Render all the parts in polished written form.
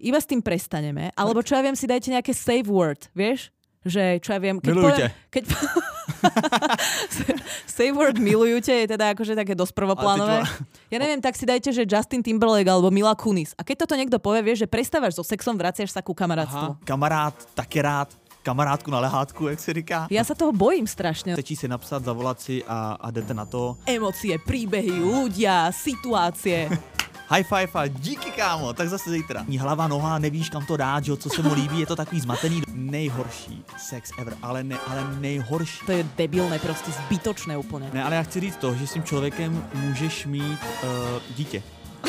iba s tým prestaneme, alebo čo ja viem, si dajte nejaké save word, vieš? Že, čo ja viem, keď save word milujte je teda akože také dosť prvoplánové. Ja neviem, tak si dajte, že Justin Timberlake alebo Mila Kunis. A keď toto niekto povie, vieš, že prestávaš so sexom, vraciaš sa ku kamarátstvu. Kamarád, taky rád. Kamarádku na lehátku, jak se říká. Ja sa toho bojím strašne. Stačí si napsat, zavolat si a jdete na to. Emócie, príbehy, ľudia, situácie. High five a díky, kámo, tak zase zítra. Hlava, noha, nevíš, kam to dát, že, co se mu líbí, je to takový zmatený. Nejhorší sex ever, ale nejhorší. To je debilné, prostě zbytočné úplně. Ne, ale já chci říct to, že s tím člověkem můžeš mít dítě.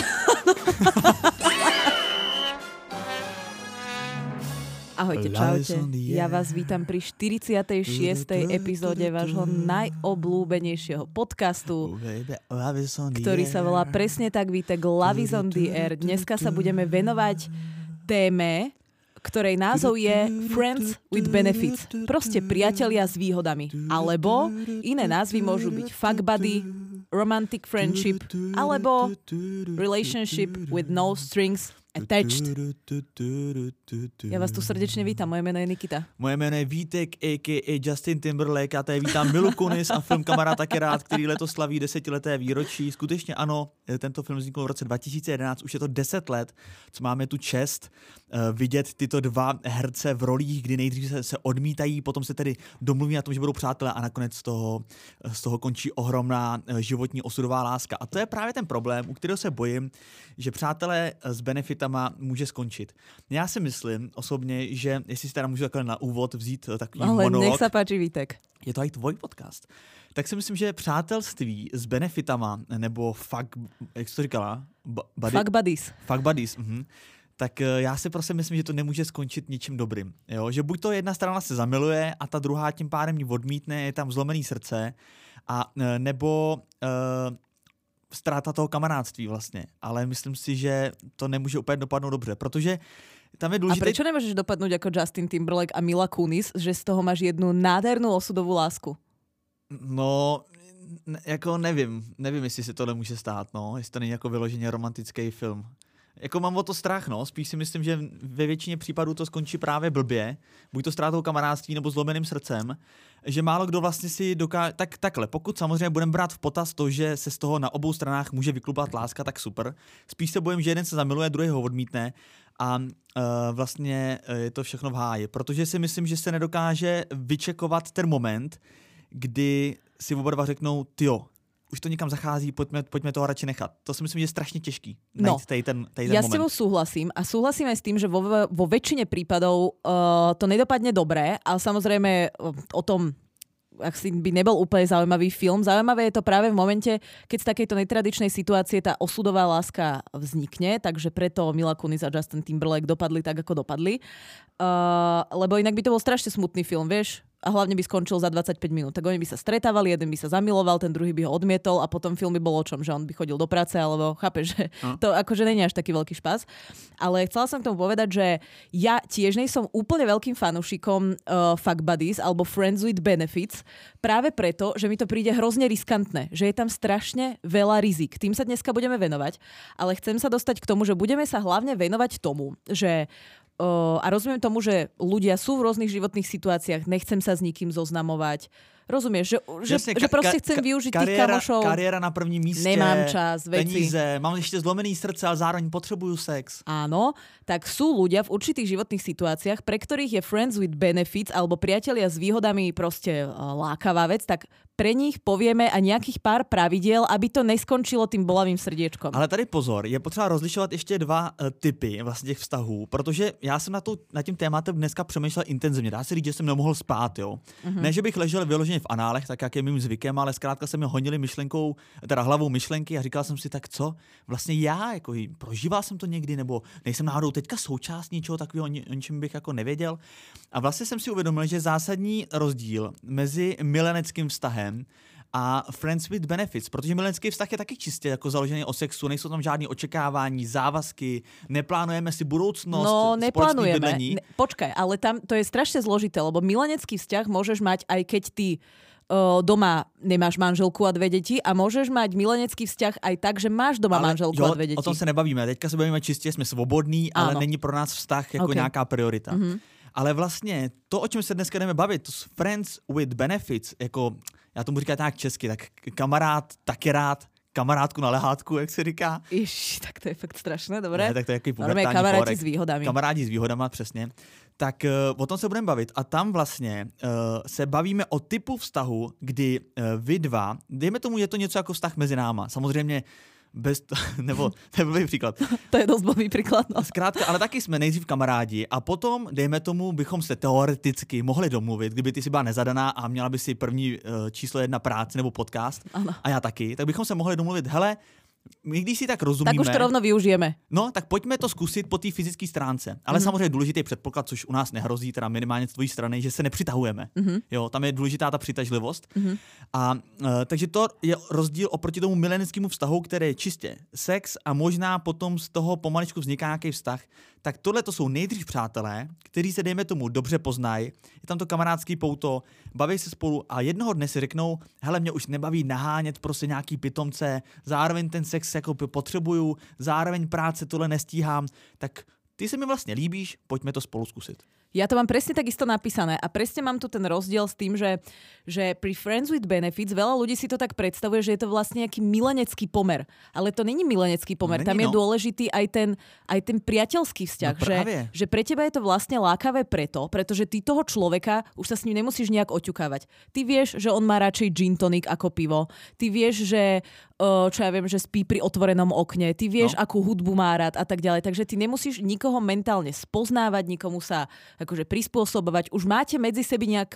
Ahojte, čaute. Ja vás vítam pri 46. epizóde vášho najobľúbenejšieho podcastu, ktorý sa volá presne tak, víte, Love is on the air. Dneska sa budeme venovať téme, ktorej názov je Friends with Benefits. Proste priatelia s výhodami. Alebo iné názvy môžu byť fuck buddy, romantic friendship, alebo relationship with no strings attached. Já vás tu srdečně vítám, moje jméno je Nikita. Moje jméno je Vítek, a.k.a. Justin Timberlake, a tady vítám Milu Kunis a film Kamarád taky rád, který letos slaví 10leté výročí. Skutečně ano, tento film vznikl v roce 2011, už je to 10 let, co máme tu čest vidět tyto dva herce v rolích, kdy nejdřív se odmítají, potom se tedy domluví na tom, že budou přátelé a nakonec z toho končí ohromná životní osudová láska. A to je právě ten problém, u kterého se bojím, že přátelé s benefitama může skončit. Já si myslím osobně, že jestli si teda můžu takhle na úvod vzít takový monolog. Ale nech sa páči, Vítek. Je to i tvoj podcast. Tak si myslím, že přátelství s benefitama, nebo jak jsi to říkala? Fuck buddies. Fuck buddies, tak já si prostě myslím, že to nemůže skončit ničím dobrým. Jo? Že buď to jedna strana se zamiluje a ta druhá tím pádem ji odmítne, je tam zlomený srdce, a nebo ztráta toho kamarádství vlastně. Ale myslím si, že to nemůže úplně dopadnout dobře, protože tam je důležité... A prečo nemôžeš dopadnúť ako Justin Timberlake a Mila Kunis, že z toho máš jednu nádhernú osudovú lásku? No, jako nevím, jestli se tohle může stát, no, jestli to není jako vyloženě romantický film. Jako mám o to strach, no, spíš si myslím, že ve většině případů to skončí právě blbě, buď to ztrátou kamarádství nebo zlomeným srdcem, že málo kdo vlastně si dokáže, takhle, pokud samozřejmě budeme brát v potaz to, že se z toho na obou stranách může vyklupat láska, tak super. Spíš se bojím, že jeden se zamiluje, druhý ho odmítne a vlastně je to všechno v háji, protože si myslím, že se nedokáže vyčekovat ten moment, kdy si oba dva řeknou, tyjo, už to někam zachází, pojďme toho radši nechat. To si myslím, že je strašně těžký najít ten moment. Ja s tebou súhlasím a súhlasím aj s tým, že vo väčšine prípadov to nedopadne dobre, ale samozrejme o tom, ak si by nebol úplne zaujímavý film. Zaujímavé je to práve v momente, keď z takejto netradičnej situácie tá osudová láska vznikne, takže preto Mila Kunis a Justin Timberlake dopadli tak, ako dopadli. Lebo inak by to bol strašne smutný film, vieš? A hlavne by skončil za 25 minút. Tak oni by sa stretávali, jeden by sa zamiloval, ten druhý by ho odmietol a potom film by bol o čom, že on by chodil do práce, alebo chápeš, že to akože není až taký veľký špas. Ale chcela som k tomu povedať, že ja tiež nejsom úplne veľkým fanúšikom fuck buddies alebo friends with benefits, práve preto, že mi to príde hrozne riskantné, že je tam strašne veľa rizik. Tým sa dneska budeme venovať, ale chcem sa dostať k tomu, že budeme sa hlavne venovať tomu, že a rozumiem tomu, že ľudia sú v rôznych životných situáciách, nechcem sa s nikým zoznamovať. Rozumieš, že prostě chcem využiť tých kamošov. Kariéra na prvním místě, nemám čas, veci. Peníze, mám ešte zlomený srdce, ale zároveň potřebuju sex. Áno, tak sú ľudia v určitých životných situáciách, pre ktorých je friends with benefits alebo priatelia s výhodami proste lákavá vec, tak pre nich povieme a nejakých pár pravidiel, aby to neskončilo tým bolavým srdiečkom. Ale tady pozor, je potřeba rozlišovat ještě dva typy vlastně těch vztahů, protože já jsem nad tím tématem dneska přemýšlel intenzivně. Dá se říct, že jsem nemohl spát, jo. Ne, že bych ležel vyloženě v análech, tak jak je mým zvykem, ale zkrátka se mi honili hlavou myšlenky a říkal jsem si, tak co? Vlastně já, jako prožíval jsem to někdy, nebo nejsem náhodou teďka součást něčeho takového, o ničem bych jako nevěděl. A vlastně jsem si uvědomil, že zásadní rozdíl mezi mileneckým vztahem a friends with benefits, protože milenský vztah je taky čistě jako založený o sexu, nejsou tam žádný očekávání, závazky, neplánujeme si budoucnost, spoločné bydlení. Počkaj, ale tam to je strašne zložité, lebo milenecký vzťah môžeš mať aj keď ty doma nemáš manželku a 2 deti a môžeš mať milenecký vzťah aj tak, že máš doma manželku a 2 deti. O tom se nebavíme. Teďka se bavíme čistě, jsme svobodní, ale není pro nás vztah jako nějaká priorita. Mm-hmm. Ale vlastně to, o čem se dneska jdeme bavit, to s friends with benefits, jako já tomu říkám tak česky, tak kamarád, taky rád, kamarádku na lehátku, jak se říká. Ježiš, tak to je fakt strašné, dobré. Ne, tak to je jaký pubertální kamarádi s výhodami. Kamarádi s výhodama, přesně. Tak o tom se budeme bavit. A tam vlastně se bavíme o typu vztahu, kdy vy dva, dejme tomu, je to něco jako vztah mezi náma. Samozřejmě nebo to je blbý příklad. To je dost blbý příklad, no. Zkrátka, ale taky jsme nejdřív kamarádi a potom, dejme tomu, bychom se teoreticky mohli domluvit, kdyby ty si byla nezadaná a měla by si první číslo 1 práci nebo podcast, ano. A já taky, tak bychom se mohli domluvit, hele, my když si tak rozumíme... Tak už to rovno využijeme. No, tak pojďme to zkusit po té fyzické stránce. Ale samozřejmě důležitý předpoklad, což u nás nehrozí, teda minimálně z tvojí strany, že se nepřitahujeme. Jo, tam je důležitá ta přitažlivost. A takže to je rozdíl oproti tomu mileneckému vztahu, který je čistě sex a možná potom z toho pomaličku vzniká nějaký vztah. Tak tohle to jsou nejdřív přátelé, kteří se, dejme tomu, dobře poznají. Je tam to kamarádský pouto, baví se spolu a jednoho dne si řeknou, hele, mě už nebaví nahánět prostě nějaký pitomce, zároveň ten sex jako potřebuju, zároveň práce tohle nestíhám, tak ty se mi vlastně líbíš, pojďme to spolu zkusit. Ja to mám presne takisto napísané a presne mám tu ten rozdiel s tým, že pri Friends with Benefits veľa ľudí si to tak predstavuje, že je to vlastne nejaký milenecký pomer. Ale to není milenecký pomer. Tam je dôležitý aj ten priateľský vzťah. No že pre teba je to vlastne lákavé pretože ty toho človeka už sa s ním nemusíš nejak oťukávať. Ty vieš, že on má radšej gin tonic ako pivo. Ty vieš, že čo ja viem, že spí pri otvorenom okne. Ty vieš, akú hudbu má rád a tak ďalej. Takže ty nemusíš nikoho mentálne spoznávať, nikomu sa akože prispôsobovať. Už máte medzi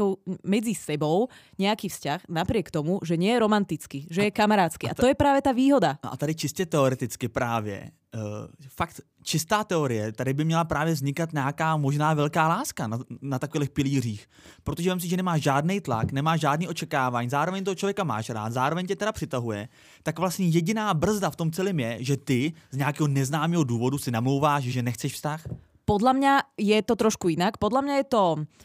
sebou nejaký vzťah, napriek tomu, že nie je romantický, že je kamarádsky. A to je práve tá výhoda. A tady čistě teoreticky právě fakt čistá teorie, tady by měla právě vznikat nějaká možná velká láska na takových pilířích. Protože vem si, že nemáš žádný tlak, nemáš žádný očekávání, zároveň toho člověka máš rád, zároveň tě teda přitahuje, tak vlastně jediná brzda v tom celém je, že ty z nějakého neznámého důvodu si namlouváš, že nechceš vztah. Podľa mňa je to trošku inak. Podľa mňa je to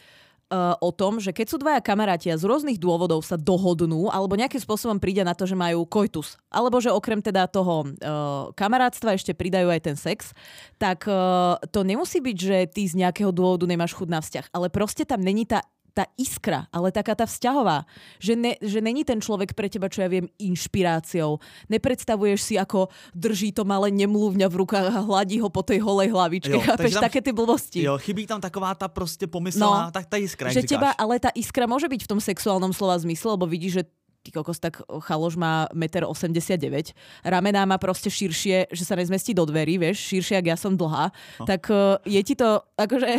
o tom, že keď sú dvaja kamaráti a z rôznych dôvodov sa dohodnú alebo nejakým spôsobom príde na to, že majú koitus, alebo že okrem teda toho kamarátstva ešte pridajú aj ten sex, tak to nemusí byť, že ty z nejakého dôvodu nemáš chuť na vzťah, ale proste tam není tá iskra, ale taká tá vzťahová. Že není ten človek pre teba, čo ja viem, inšpiráciou. Nepredstavuješ si, ako drží to malé nemluvňa v rukách a hladí ho po tej holej hlavičke. Chápeš, také ty blbosti. Jo, chybí tam taková ta prostě pomyslná, tak tá iskra, že teba, ale tá iskra môže byť v tom sexuálnom slova zmysle, lebo vidíš, že ty kokos, tak chaloš má 1,89 m, ramená má proste širšie, že sa nezmestí do dverí, vieš, širšie, jak ja som dlhá, tak je ti to akože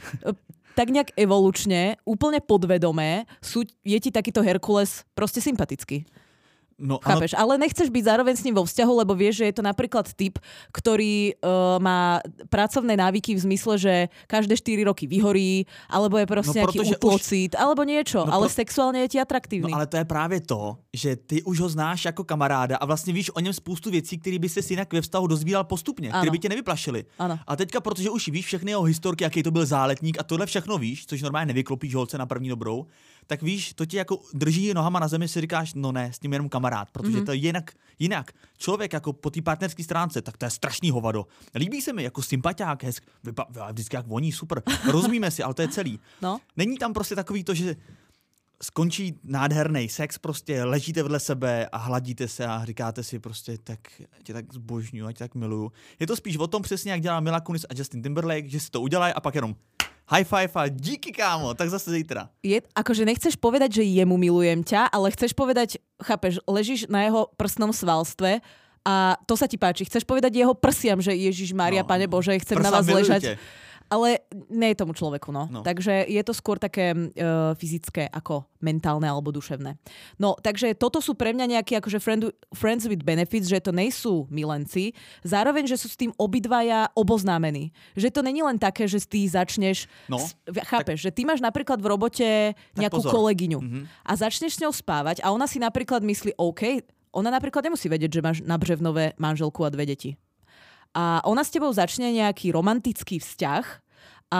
tak nejak evolučne, úplne podvedomé, je ti takýto Herkules proste sympatický. No, chápeš? Ale nechceš byť zároveň s ním vo vzťahu, lebo vieš, že je to napríklad typ, ktorý má pracovné návyky v zmysle, že každé 4 roky vyhorí, alebo je proste nejaký útlocit, alebo niečo, ale sexuálne je ti atraktívny. No ale to je právě to, že ty už ho znáš jako kamaráda a vlastně víš o něm spoustu věcí, které by ses jinak ve vztahu dozvídal postupně, které by tě nevyplašily. Ano. A teďka, protože už víš všechny jeho historky, jaký to byl záletník a tohle všechno víš, což normálně nevyklopíš holce na první dobrou, tak víš, to ti jako drží nohama na zemi, si říkáš, no ne, s tím jenom kamarád, protože to je jinak. Člověk jako po té partnerské stránce, tak to je strašný hovado. Líbí se mi jako sympatiák, vždycky jak voní, super. Rozumíme si, ale to je celý. No. Není tam prostě takový to, že skončí nádherný sex, prostě ležíte vedle sebe a hladíte se a říkáte si prostě, tak tě tak zbožňuju, tě tak miluju. Je to spíš o tom přesně, jak dělá Mila Kunis a Justin Timberlake, že si to udělají a pak jenom high five a díky, kámo, tak zase zítra. Akože nechceš povedať, že jemu milujem ťa, ale chceš povedať, chápeš, ležíš na jeho prsnom svalstve a to sa ti páči. Chceš povedať jeho prsiam, že Ježiš Mária, Pane Bože, chcem na vás ležať. Ale nie je tomu človeku, no. Takže je to skôr také fyzické ako mentálne alebo duševné. No, takže toto sú pre mňa nejaké akože friends with benefits, že to nejsú milenci, zároveň, že sú s tým obidvaja oboznámení. Že to není len také, že ty začneš, chápeš, že ty máš napríklad v robote nejakú kolegyňu a začneš s ňou spávať a ona si napríklad myslí, OK, ona napríklad nemusí vedieť, že máš na Břevnové manželku a 2 deti. A ona s tebou začne nejaký romantický vzťah a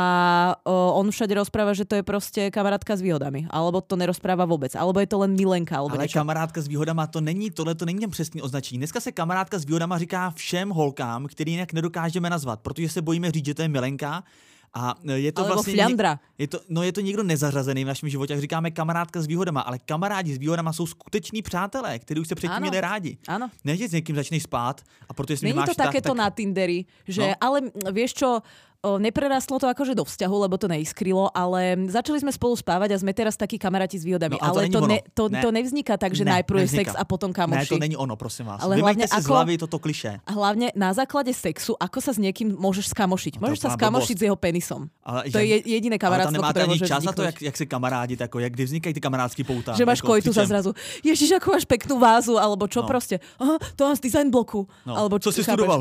on všade rozpráva, že to je proste kamarátka s výhodami, alebo to nerozpráva vôbec, alebo je to len milenka, alebo ale niečo. kamarádka s výhodama, to není ten přesný označení. Dneska se kamarádka s výhodama říká všem holkám, který jinak nedokážeme nazvat, protože se bojíme říct, že to je milenka. A je to alebo vlastně fľandra. Je to někdo nezařazený v našem životě, jak říkáme kamarádka s výhodama, ale kamarádi s výhodama jsou skuteční přátelé, kteří už se předtím měli rádi. Áno. Ne, že s někým začneš spát a protože si není nemáš to takéto tak... na Tinderi, že No. ale vieš čo, neprerastlo to akože do vzťahu, lebo to neiskrylo, ale začali sme spolu spávať a sme teraz takí kamaráti s výhodami. No, ale to, to nevzniká tak, že najprv je sex a potom kamoši. Ne, to není ono, prosím vás. Ale vymeďte si z hlavy toto klišé. A hlavne na základe sexu, ako sa s niekým môžeš skamošiť. Môžeš sa skamošiť s jeho penisom. Ale to je jediné kamarátstvo, ktoré môže čas vzniknúť. na to, jak se kamarádi, jako, jak kdy vznikají ty kamarádský pouta. Že máš kojtu za zrazu. Ježiš, ako máš peknú vázu, alebo čo proste. Aha, to mám z design bloku. Alebo co si studoval?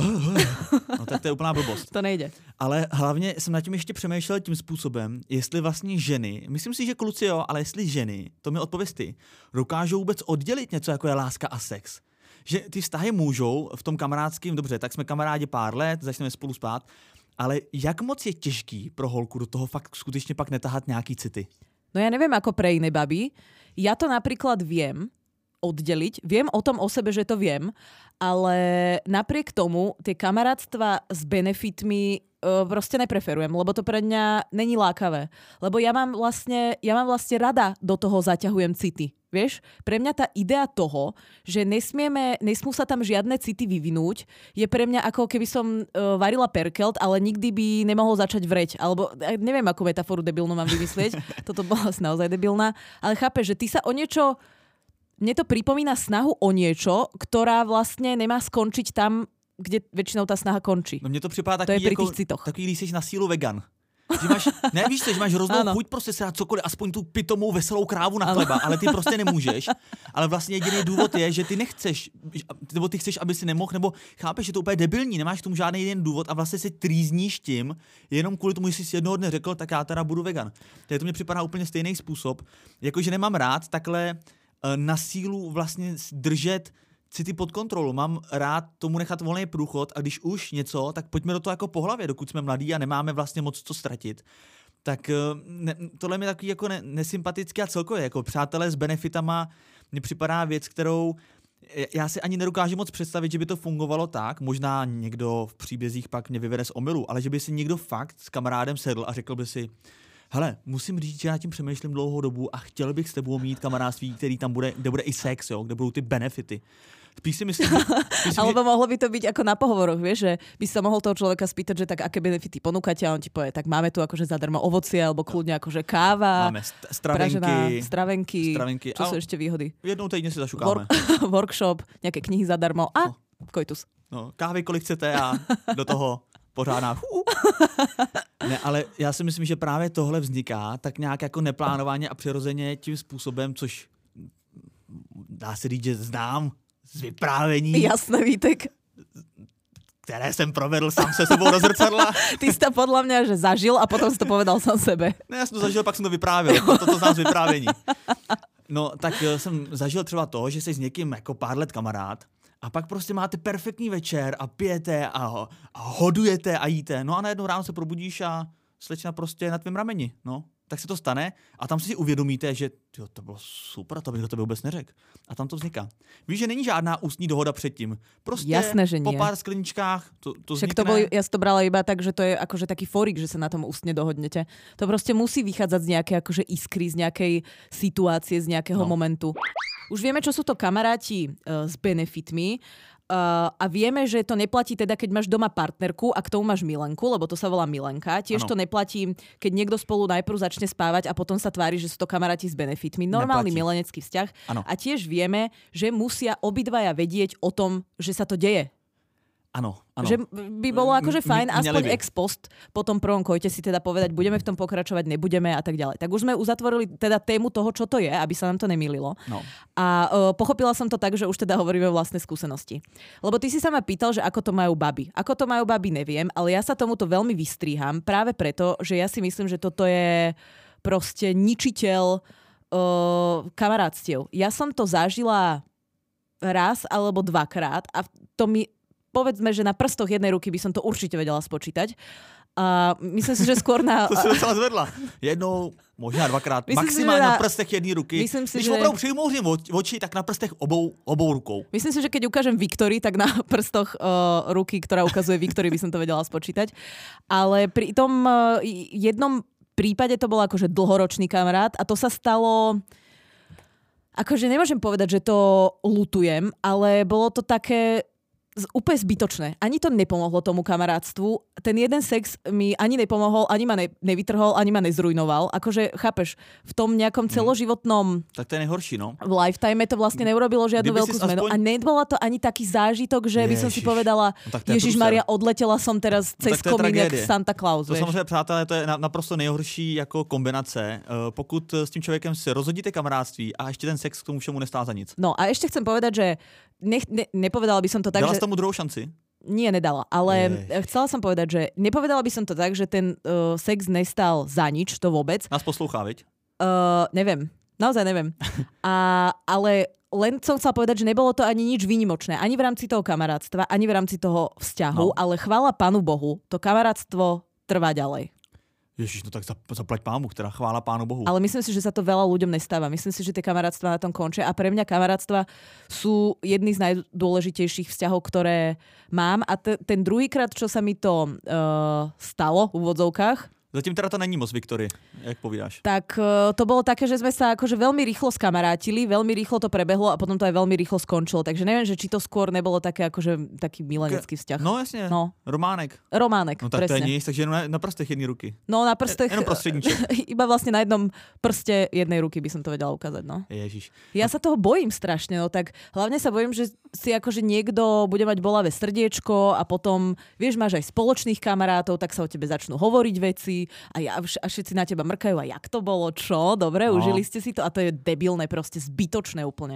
No tak to je úplná blbost. To nejde. Ale hlavně jsem nad tím ještě přemýšlel tím způsobem, jestli vlastně ženy, myslím si, že kluci jo, ale jestli ženy, to mi odpověz ty, dokážou vůbec oddělit něco, jako je láska a sex. Že ty vztahy můžou v tom kamarádském, dobře, tak jsme kamarádi pár let, začneme spolu spát, ale jak moc je těžký pro holku do toho fakt skutečně pak netahat nějaký city? No ja neviem ako pre iné baby. Ja to napríklad viem oddeliť. Viem o tom o sebe, že to viem, ale napriek tomu tie kamarátstva s benefitmi proste nepreferujem, lebo to pre mňa není lákavé. Lebo ja mám vlastne rada do toho zaťahujem city. Vieš? Pre mňa tá idea toho, že nesmú sa tam žiadne city vyvinúť, je pre mňa ako keby som varila perkelt, ale nikdy by nemohol začať vreť. Alebo neviem, akú metaforu debilnú mám vymyslieť. Toto bola naozaj debilná. Ale chápeš, že ty sa o niečo... Mne to pripomína snahu o niečo, ktorá vlastne nemá skončiť tam, kde väčšinou tá snaha končí. No mně to připadá to je pri tých citoch. Takový, když jsi na sílu vegan. Že máš, ne, víš co, že máš hroznou chuť prostě se dát cokoliv, aspoň tu pitomou veselou krávu na chleba, ale ty prostě nemůžeš. Ale vlastně jediný důvod je, že ty nechceš, nebo ty chceš, aby si nemohl, nebo chápeš, že to úplně debilní, nemáš k tomu žádný jeden důvod a vlastně si trýzníš tím, jenom kvůli tomu, že jsi si jednoho dne řekl, tak já teda budu vegan. Takže to mně připadá úplně stejný způsob, jakože nemám rád takhle na sílu vlastně držet city pod kontrolou. Mám rád tomu nechat volný průchod a když už něco, tak pojďme do toho jako po hlavě, dokud jsme mladí a nemáme vlastně moc co ztratit. Tak tohle mi takový jako nesympatický a celkově jako přátelé s benefitama mně připadá věc, kterou já si ani nedokážu moc představit, že by to fungovalo tak, možná někdo v příbězích pak mě vyvede z omylu, ale že by si někdo fakt s kamarádem sedl a řekl by si, hele, musím říct, že já tím přemýšlím dlouhou dobu a chtěl bych s tebou mít kamarádství, který tam bude, kde bude i sex, jo, kde budou ty benefity. Spíš si myslím, alebo mohlo by to byť ako na pohovoroch, vieš, že by sa mohol toho človeka spýtať, že tak aké benefity ponúkate a on ti povie, tak máme tu akože zadarmo ovocie alebo kľudne akože káva, máme stravenky. Čo sú ešte výhody? Jednou týdne si zašukáme. Workshop, nejaké knihy zadarmo a koitus. No, kávy kolik chcete a do toho pořádná. Ne, ale já si myslím, že právě tohle vzniká tak nějak jako neplánovaně a přirozeně tím způsobem, což dá se říct, že znám z vyprávění. Jasné, Vítek. Které jsem provedl sám se sebou do zrcadla. Ty si to podľa mňa, že zažil a potom si to povedal sám sebe. Ne, já jsem to zažil, pak jsem to vyprávěl. Toto znám z vyprávění. No, tak jsem zažil třeba to, že jsi s někým jako pár let kamarád a pak prostě máte perfektní večer a pijete a hodujete a jíte. No a najednou ráno se probudíš a slečna prostě na tvém rameni. No, tak se to stane a tam si uvědomíte, že jo, to bylo super, to bych do tebe vůbec neřekl. A tam to vzniká. Víš, že není žádná ústní dohoda předtím. Prostě jasné, že po pár skleničkách to však vznikne. Ja si to brala iba tak, že to je akože taký forik, že sa na tom ústne dohodnete. To proste musí vychádzať z nejakej akože iskry, z nejakej situácie, z nejakého momentu. Už vieme, čo sú to kamaráti s benefitmi. A vieme, že to neplatí teda, keď máš doma partnerku a k tomu máš milenku, lebo to sa volá milenka. Tiež to neplatí, keď niekto spolu najprv začne spávať a potom sa tvári, že sú to kamaráti s benefitmi. Normálny milenecký vzťah. Ano. A tiež vieme, že musia obidvaja vedieť o tom, že sa to deje. Áno. Že by bolo akože fajn aspoň ex post po tom prvom kojte si teda povedať, budeme v tom pokračovať, nebudeme a tak ďalej. Tak už sme uzatvorili teda tému toho, čo to je, aby sa nám to nemýlilo. No. A pochopila som to tak, že už teda hovoríme o vlastnej skúsenosti. Lebo ty si sa ma pýtal, že ako to majú baby. Ako to majú baby, neviem, ale ja sa tomuto veľmi vystríham práve preto, že ja si myslím, že toto je proste ničiteľ kamarátstiev. Ja som to zažila raz alebo dvakrát a to mi povedzme, že na prstoch jednej ruky by som to určite vedela spočítať. A myslím si, že skôr na... To si docela zvedla. Jednou, možná dvakrát, Myslím maximálně si, že na prstech jedné ruky. Myslím si, Když že... opravdu přimouřím oči, tak na prstech obou rukou. Myslím si, že keď ukážem Viktorii, tak na prstoch ruky, ktorá ukazuje Viktorii, by som to vedela spočítať. Ale pri tom jednom prípade to bol akože dlhoročný kamarát a to sa stalo... Akože nemôžem povedať, že to ľutujem, ale bolo to také úplne zbytočné. Ani to nepomohlo tomu kamarátstvu. Ten jeden sex mi ani nepomohol, ani ma nevytrhol, ani ma nezrujnoval. Akože, chápeš, v tom nejakom celoživotnom... Tak to je nejhorší, no. V lifetime to vlastne neurobilo žiadnu veľkú zmenu. A nebola to ani taký zážitok, že by som si povedala, Ježišmaria, odletela som teraz cez komín jak Santa Claus. To samozřejmě, přátelé, to je naprosto nejhorší jako kombinace. Pokud s tím člověkem si rozhodíte kamarádství a ještě ten sex k tomu všemu nestá za nic. No a ešte chcem povedať, že nepovedala by som to tak, Dala že... tomu druhou šanci? Nie, nedala. Ale chcela som povedať, že nepovedala by som to tak, že ten sex nestal za nič, to vôbec. Nás poslouchá, viď? Neviem. Naozaj neviem. Ale len som chcela povedať, že nebolo to ani nič výnimočné. Ani v rámci toho kamarátstva, ani v rámci toho vzťahu. No. Ale chvála Pánu Bohu, to kamarátstvo trvá ďalej. Ježiš, no tak zaplať pámu, teda chvála Pánu Bohu. Ale myslím si, že sa to veľa ľuďom nestáva. Myslím si, že tie kamarátstva na tom končia a pre mňa kamarátstva sú jedny z najdôležitejších vzťahov, ktoré mám. A ten druhýkrát, čo sa mi to stalo v úvodzovkách, zatím teda to není moc, Viktorie, jak povídáš. Tak to bolo také, že sme sa akože veľmi rýchlo skamarátili, veľmi rýchlo to prebehlo a potom to aj veľmi rýchlo skončilo. Takže neviem, že či to skôr nebolo také akože taký milenecký vzťah. No jasne, no. Románek. No tak presne. To je nic, takže jenom na prstech jednej ruky. No na prstech, jenom prostredníček. Iba vlastne na jednom prste jednej ruky by som to vedela ukázať, no. Ježiš. Ja sa toho bojím strašne, no tak hlavne sa bojím, že si akože niekto bude mať bolavé srdiečko a potom, vieš, máš aj spoločných kamarátov, tak sa o tebe začnú hovoriť veci a všetci na teba mrkajú a jak to bolo, čo? Dobre, užili ste si to a to je debilné, proste zbytočné úplne.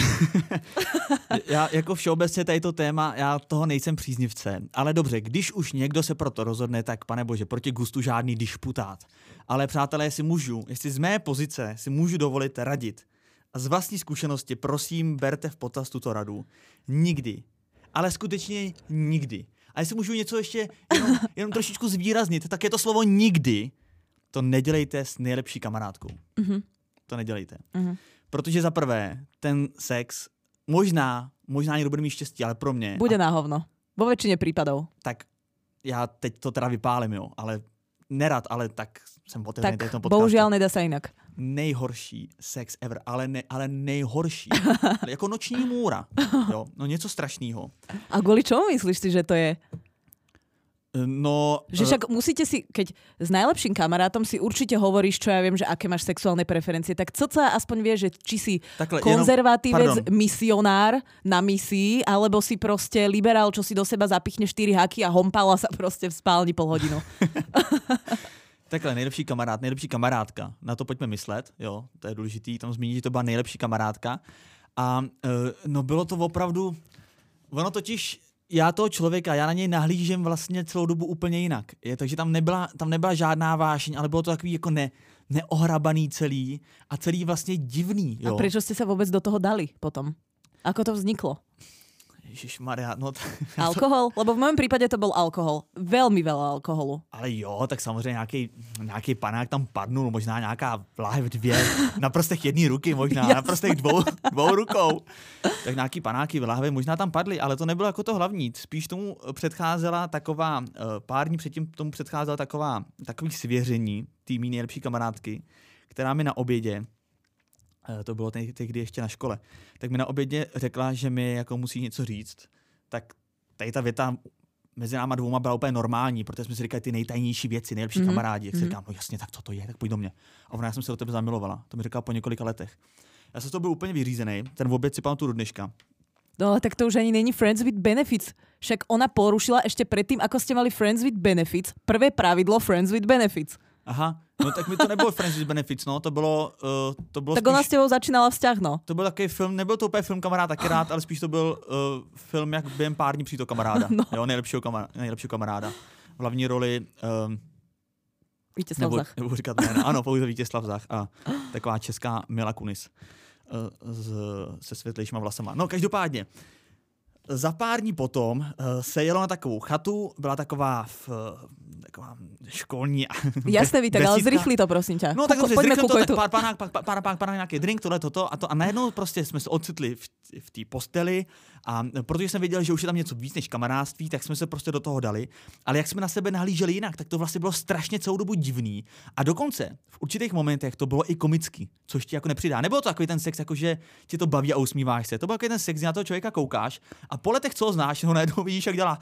Já jako všeobecně tady to téma, já toho nejsem příznivce, ale dobře, když už někdo se pro to rozhodne, tak pane bože, proti gustu žádný dišputát. Ale přátelé, jestli z mé pozice si můžu dovolit radit a z vlastní zkušenosti, prosím, berte v potaz tuto radu. Nikdy, ale skutečně nikdy. A jestli můžu něco ještě jenom trošičku zvýraznit, tak je to slovo nikdy. To nedělejte s nejlepší kamarádkou. Mm-hmm. To nedělejte. Mm-hmm. Protože za prvé, ten sex, možná někdo bude mít štěstí, ale pro mě... Bude na hovno. Vo väčšine prípadov. Tak já teď to teda vypálím, jo, ale nerad, ale tak jsem otevřený v tom podcastu. Bohužiaľ nedá sa inak. Nejhorší sex ever, ale nejhorší. Jako noční můra, jo, no něco strašného. A kvôli čomu myslíš si, že to je? No... Že však musíte si, keď s najlepším kamarátom si určite hovoríš, čo ja viem, že aké máš sexuálne preferencie, tak co sa aspoň vie, že či si takhle, konzervatívec, misionár na misii, alebo si proste liberál, čo si do seba zapichne 4 haky a hompala sa proste v spálni pol hodinu. Takhle, nejlepší kamarád, nejlepší kamarádka. Na to pojďme myslet, jo, to je důležitý, tam zmínit, že to byla nejlepší kamarádka. A no bylo to opravdu, ono totiž, já toho člověka, já na něj nahlížím vlastně celou dobu úplně jinak. Takže tam nebyla žádná vášeň, ale bylo to takový jako neohrabaný celý a celý vlastně divný. Jo. A prečo ste sa vôbec do toho dali potom? Ako to vzniklo? Ježišmarja, no... Alkohol? Lebo v mojom prípade to bol alkohol. Veľmi veľa alkoholu. Ale jo, tak samozřejmě nějaký panák tam padnul, možná nějaká láhev 2, na prstech jedné ruky možná, na prstech dvou rukou. Tak nějaký panáky, láhve možná tam padly, ale to nebylo jako to hlavní. Spíš tomu předcházela taková, pár dní předtím tomu předcházela takový svěření té mý nejlepší kamarádky, která mi na obědě, to bylo tehdy ještě na škole, tak mi na obědě řekla, že mi jako musí něco říct. Tak tady ta věta mezi náma dvouma byla úplně normální, protože jsme si říkali ty nejtajnější věci, nejlepší kamarádi. Jak si říkám, no jasně, tak co to je, tak pojď do mě. A ona, já jsem se do tebe zamilovala. To mi říkala po několika letech. Já jsem z toho byl úplně vyřízený, ten oběd si pamatuju do dneška. No, tak to už ani není Friends with Benefits. Však ona porušila ešte predtým, ako ste mali Friends with Benefits, prvé pravidlo Friends with Benefits. Aha, no tak mi to nebylo Friends with Benefits, no, to bylo tak spíš, ona s tebou začínala vzťah, no. To byl takový film, nebyl to úplně film Kamarád taky rád, ale spíš to byl film, jak během pár dní přijít do kamaráda, no. Jo, nejlepšího kamaráda. V hlavní roli... Vítězslav Zach. Nebudu říkat jména, ano, pouze Vítězslav Zach a taková česká Mila Kunis se světlejšíma vlasama. No, každopádně, za pár dní potom se jelo na takovou chatu, byla taková školní Jasné, Vítek, ale zrychli to, prosím ťa. No tak dobře, zrychlím to, tak pár nějaký drink, toto a najednou prostě jsme se ocitli v té posteli a protože jsem věděl, že už je tam něco víc než kamarádství, tak jsme se prostě do toho dali, ale jak jsme na sebe nahlíželi jinak, tak to vlastně bylo strašně celou dobu divný a dokonce v určitých momentech to bylo i komický, což ti jako nepřidá. Nebylo to takový ten sex, jako že ti to baví a usmíváš se. To byl takový ten sex, na toho člověka koukáš a po letech, co ho znáš, ho najednou vidíš, jak dělá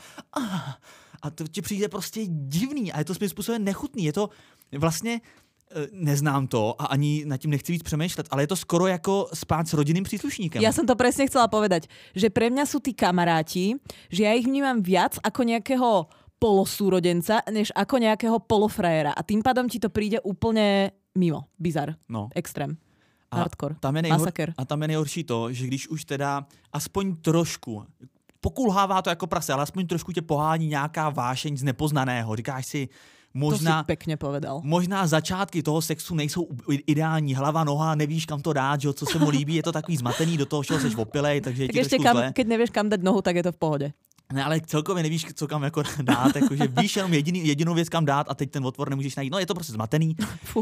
a to ti přijde prostě divný a je to svým způsobem nechutný. Je to vlastně, neznám to a ani nad tím nechci víc přemýšlet, ale je to skoro jako spát s rodinným příslušníkem. Ja som to presne chcela povedať, že pre mňa sú tí kamaráti, že ja ich vnímam viac ako nejakého polosúrodenca, než ako nejakého polofrajera. A tým pádom ti to príde úplne mimo. Bizar. No. Extrém. A hardcore. Masaker. A tam je nejhorší to, že když už teda aspoň trošku pokulhává to jako prase, ale aspoň trošku tě pohání nějaká vášeň z nepoznaného. Říkáš si, možná, to si pekne povedal. Možná začátky toho sexu nejsou ideální, hlava, noha, nevíš kam to dát, že, co se mu líbí, je to takový zmatený, do toho všeho seš opilej, takže je tak ti ešte trošku zle. Keď nevieš kam dať nohu, tak je to v pohode. Ne, ale celkově nevíš, co kam jako dát, jakože víš jenom jedinou věc, kam dát a teď ten otvor nemůžeš najít. No, je to prostě zmatený.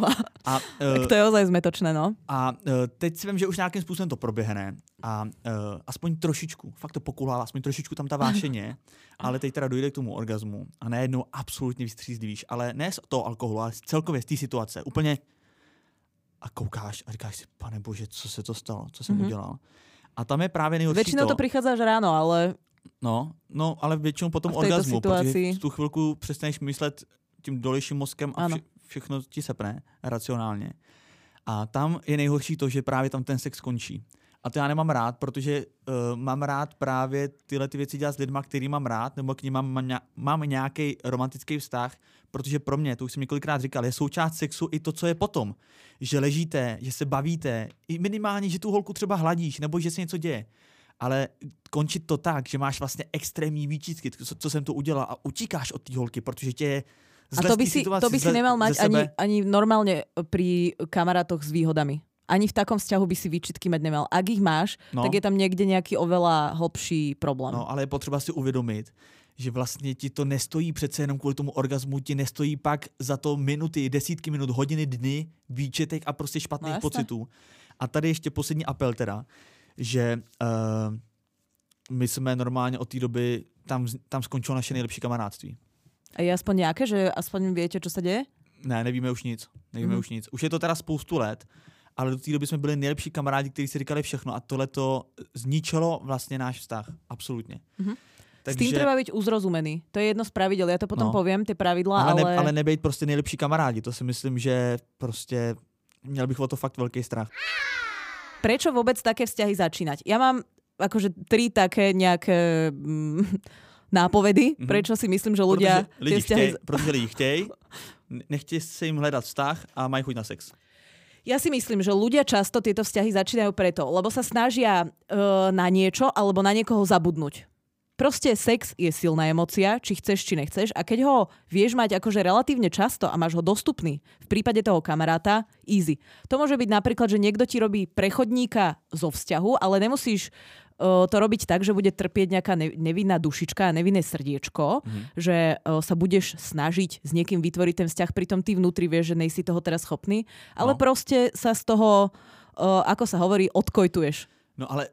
Tak to je ozaj zmetočné, no. A teď si vím, že už nějakým způsobem to proběhne a aspoň trošičku, fakt to pokulhává, aspoň trošičku tam ta vášeně, ale teď teda dojde k tomu orgazmu a najednou absolutně vystřízlivíš, ale ne z toho alkoholu, ale celkově z té situace. Úplně a koukáš a říkáš si, pane bože, co se to stalo, co jsem udělal. A tam je právě nejhorší Většinou to přichází až ráno, ale... No, ale většinou po tom orgazmu, protože v tu chvilku přestaneš myslet tím dolejším mozkem a všechno ti sepne racionálně. A tam je nejhorší to, že právě tam ten sex končí. A to já nemám rád, protože mám rád právě tyhle ty věci dělat s lidma, který mám rád, nebo k nim mám nějaký romantický vztah, protože pro mě, to už jsem několikrát říkal, je součást sexu i to, co je potom. Že ležíte, že se bavíte, i minimálně, že tu holku třeba hladíš, nebo že se něco děje. Ale končit to tak, že máš vlastně extrémní výčitky, co jsem to udělal a utíkáš od té holky, protože tě je zle z té situace. A to by si nemal mať ani normálne pri kamarátoch s výhodami. Ani v takom vzťahu by si výčitky mať nemal. Ak ich máš, tak je tam niekde nejaký oveľa hlbší problém. No, ale je potřeba si uvědomit, že vlastně ti to nestojí přece jenom kvůli tomu orgazmu, ti nestojí pak za to minuty, desítky minut, hodiny, dny, výčitek a prostě špatných pocitů. A tady ještě poslední apel teda, že my jsme normálně od té doby, tam skončilo naše nejlepší kamarádství. A je aspoň nějaké, že aspoň víte, co se děje? Ne, nevíme už nic. Už nic. Už je to teda spoustu let, ale do té doby jsme byli nejlepší kamarádi, kteří si říkali všechno a tohle to zničilo vlastně náš vztah. Absolutně. Takže... S tým treba byť uzrozumený. To je jedno z pravidel. Ja to potom poviem, tie pravidlá, ale nebejt prostě nejlepší kamarádi. To si myslím, že prostě měl bych o to fakt veľký strach. Prečo vôbec také vzťahy začínať? Ja mám akože 3 také nejaké nápovedy, prečo si myslím, že ľudia... Protože lidi chtějí, nechtějí se jim hledat vztah a mají chuť na sex. Ja si myslím, že ľudia často tieto vzťahy začínajú preto, lebo sa snažia na niečo alebo na niekoho zabudnúť. Proste sex je silná emócia, či chceš, či nechceš a keď ho vieš mať akože relatívne často a máš ho dostupný, v prípade toho kamaráta, easy. To môže byť napríklad, že niekto ti robí prechodníka zo vzťahu, ale nemusíš to robiť tak, že bude trpieť nejaká nevinná dušička a nevinné srdiečko, že sa budeš snažiť s niekým vytvoriť ten vzťah, pritom ty vnútri vieš, že nejsi toho teraz schopný, ale proste sa z toho, ako sa hovorí, odkojtuješ. No ale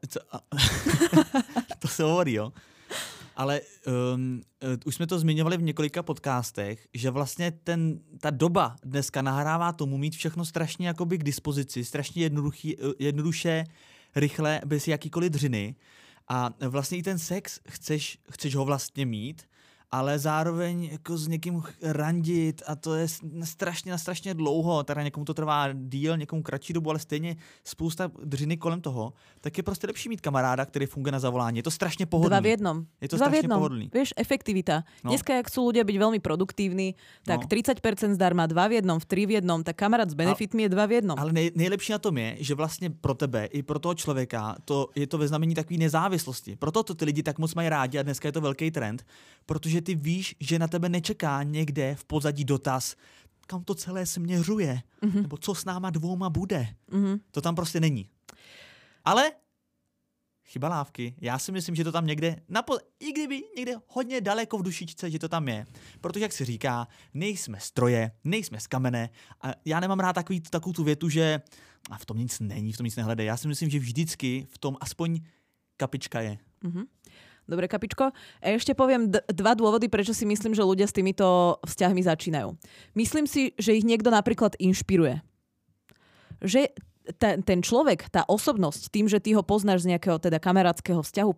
to se hovorí, jo. Ale už jsme to zmiňovali v několika podcastech, že vlastně ta doba dneska nahrává tomu mít všechno strašně jakoby k dispozici, strašně jednoduše, rychle, bez jakýkoliv dřiny. A vlastně i ten sex chceš ho vlastně mít, ale zároveň jako s někým randit a to je strašně dlouho, teda někomu to trvá díl, někomu kratší dobu, ale stejně spousta dřiny kolem toho, tak je prostě lepší mít kamaráda, který funguje na zavolání. Je to strašně pohodlný. 2 v 1. Je to strašně pohodlný. Vieš, efektivita. Dneska, jak sú ľudia byť veľmi produktívni, tak 30% zdarma, 2 v 1, v 3 v 1, tak kamarát s benefitmi je 2 v 1. Ale nejlepší na tom je, že vlastně pro tebe i pro toho člověka je to ve znamení takové nezávislosti. Proto to ty lidi tak moc mají rádi a dneska je to velký trend, protože ty víš, že na tebe nečeká někde v pozadí dotaz, kam to celé směřuje, nebo co s náma 2 bude. To tam prostě není. Ale Chybalávky. Já si myslím, že to tam někde, i kdyby někde hodně daleko v dušičce, že to tam je. Protože, jak se říká, nejsme stroje, nejsme z kamene a já nemám rád takovou tu větu, že a v tom nic není, v tom nic nehledej. Já si myslím, že vždycky v tom aspoň kapička je. Mhm. Dobre, Kapičko. A ešte poviem dva dôvody, prečo si myslím, že ľudia s týmito vzťahmi začínajú. Myslím si, že ich niekto napríklad inšpiruje. Že ten človek, tá osobnosť, tým, že ty ho poznáš z nejakého teda kamarátskeho vzťahu,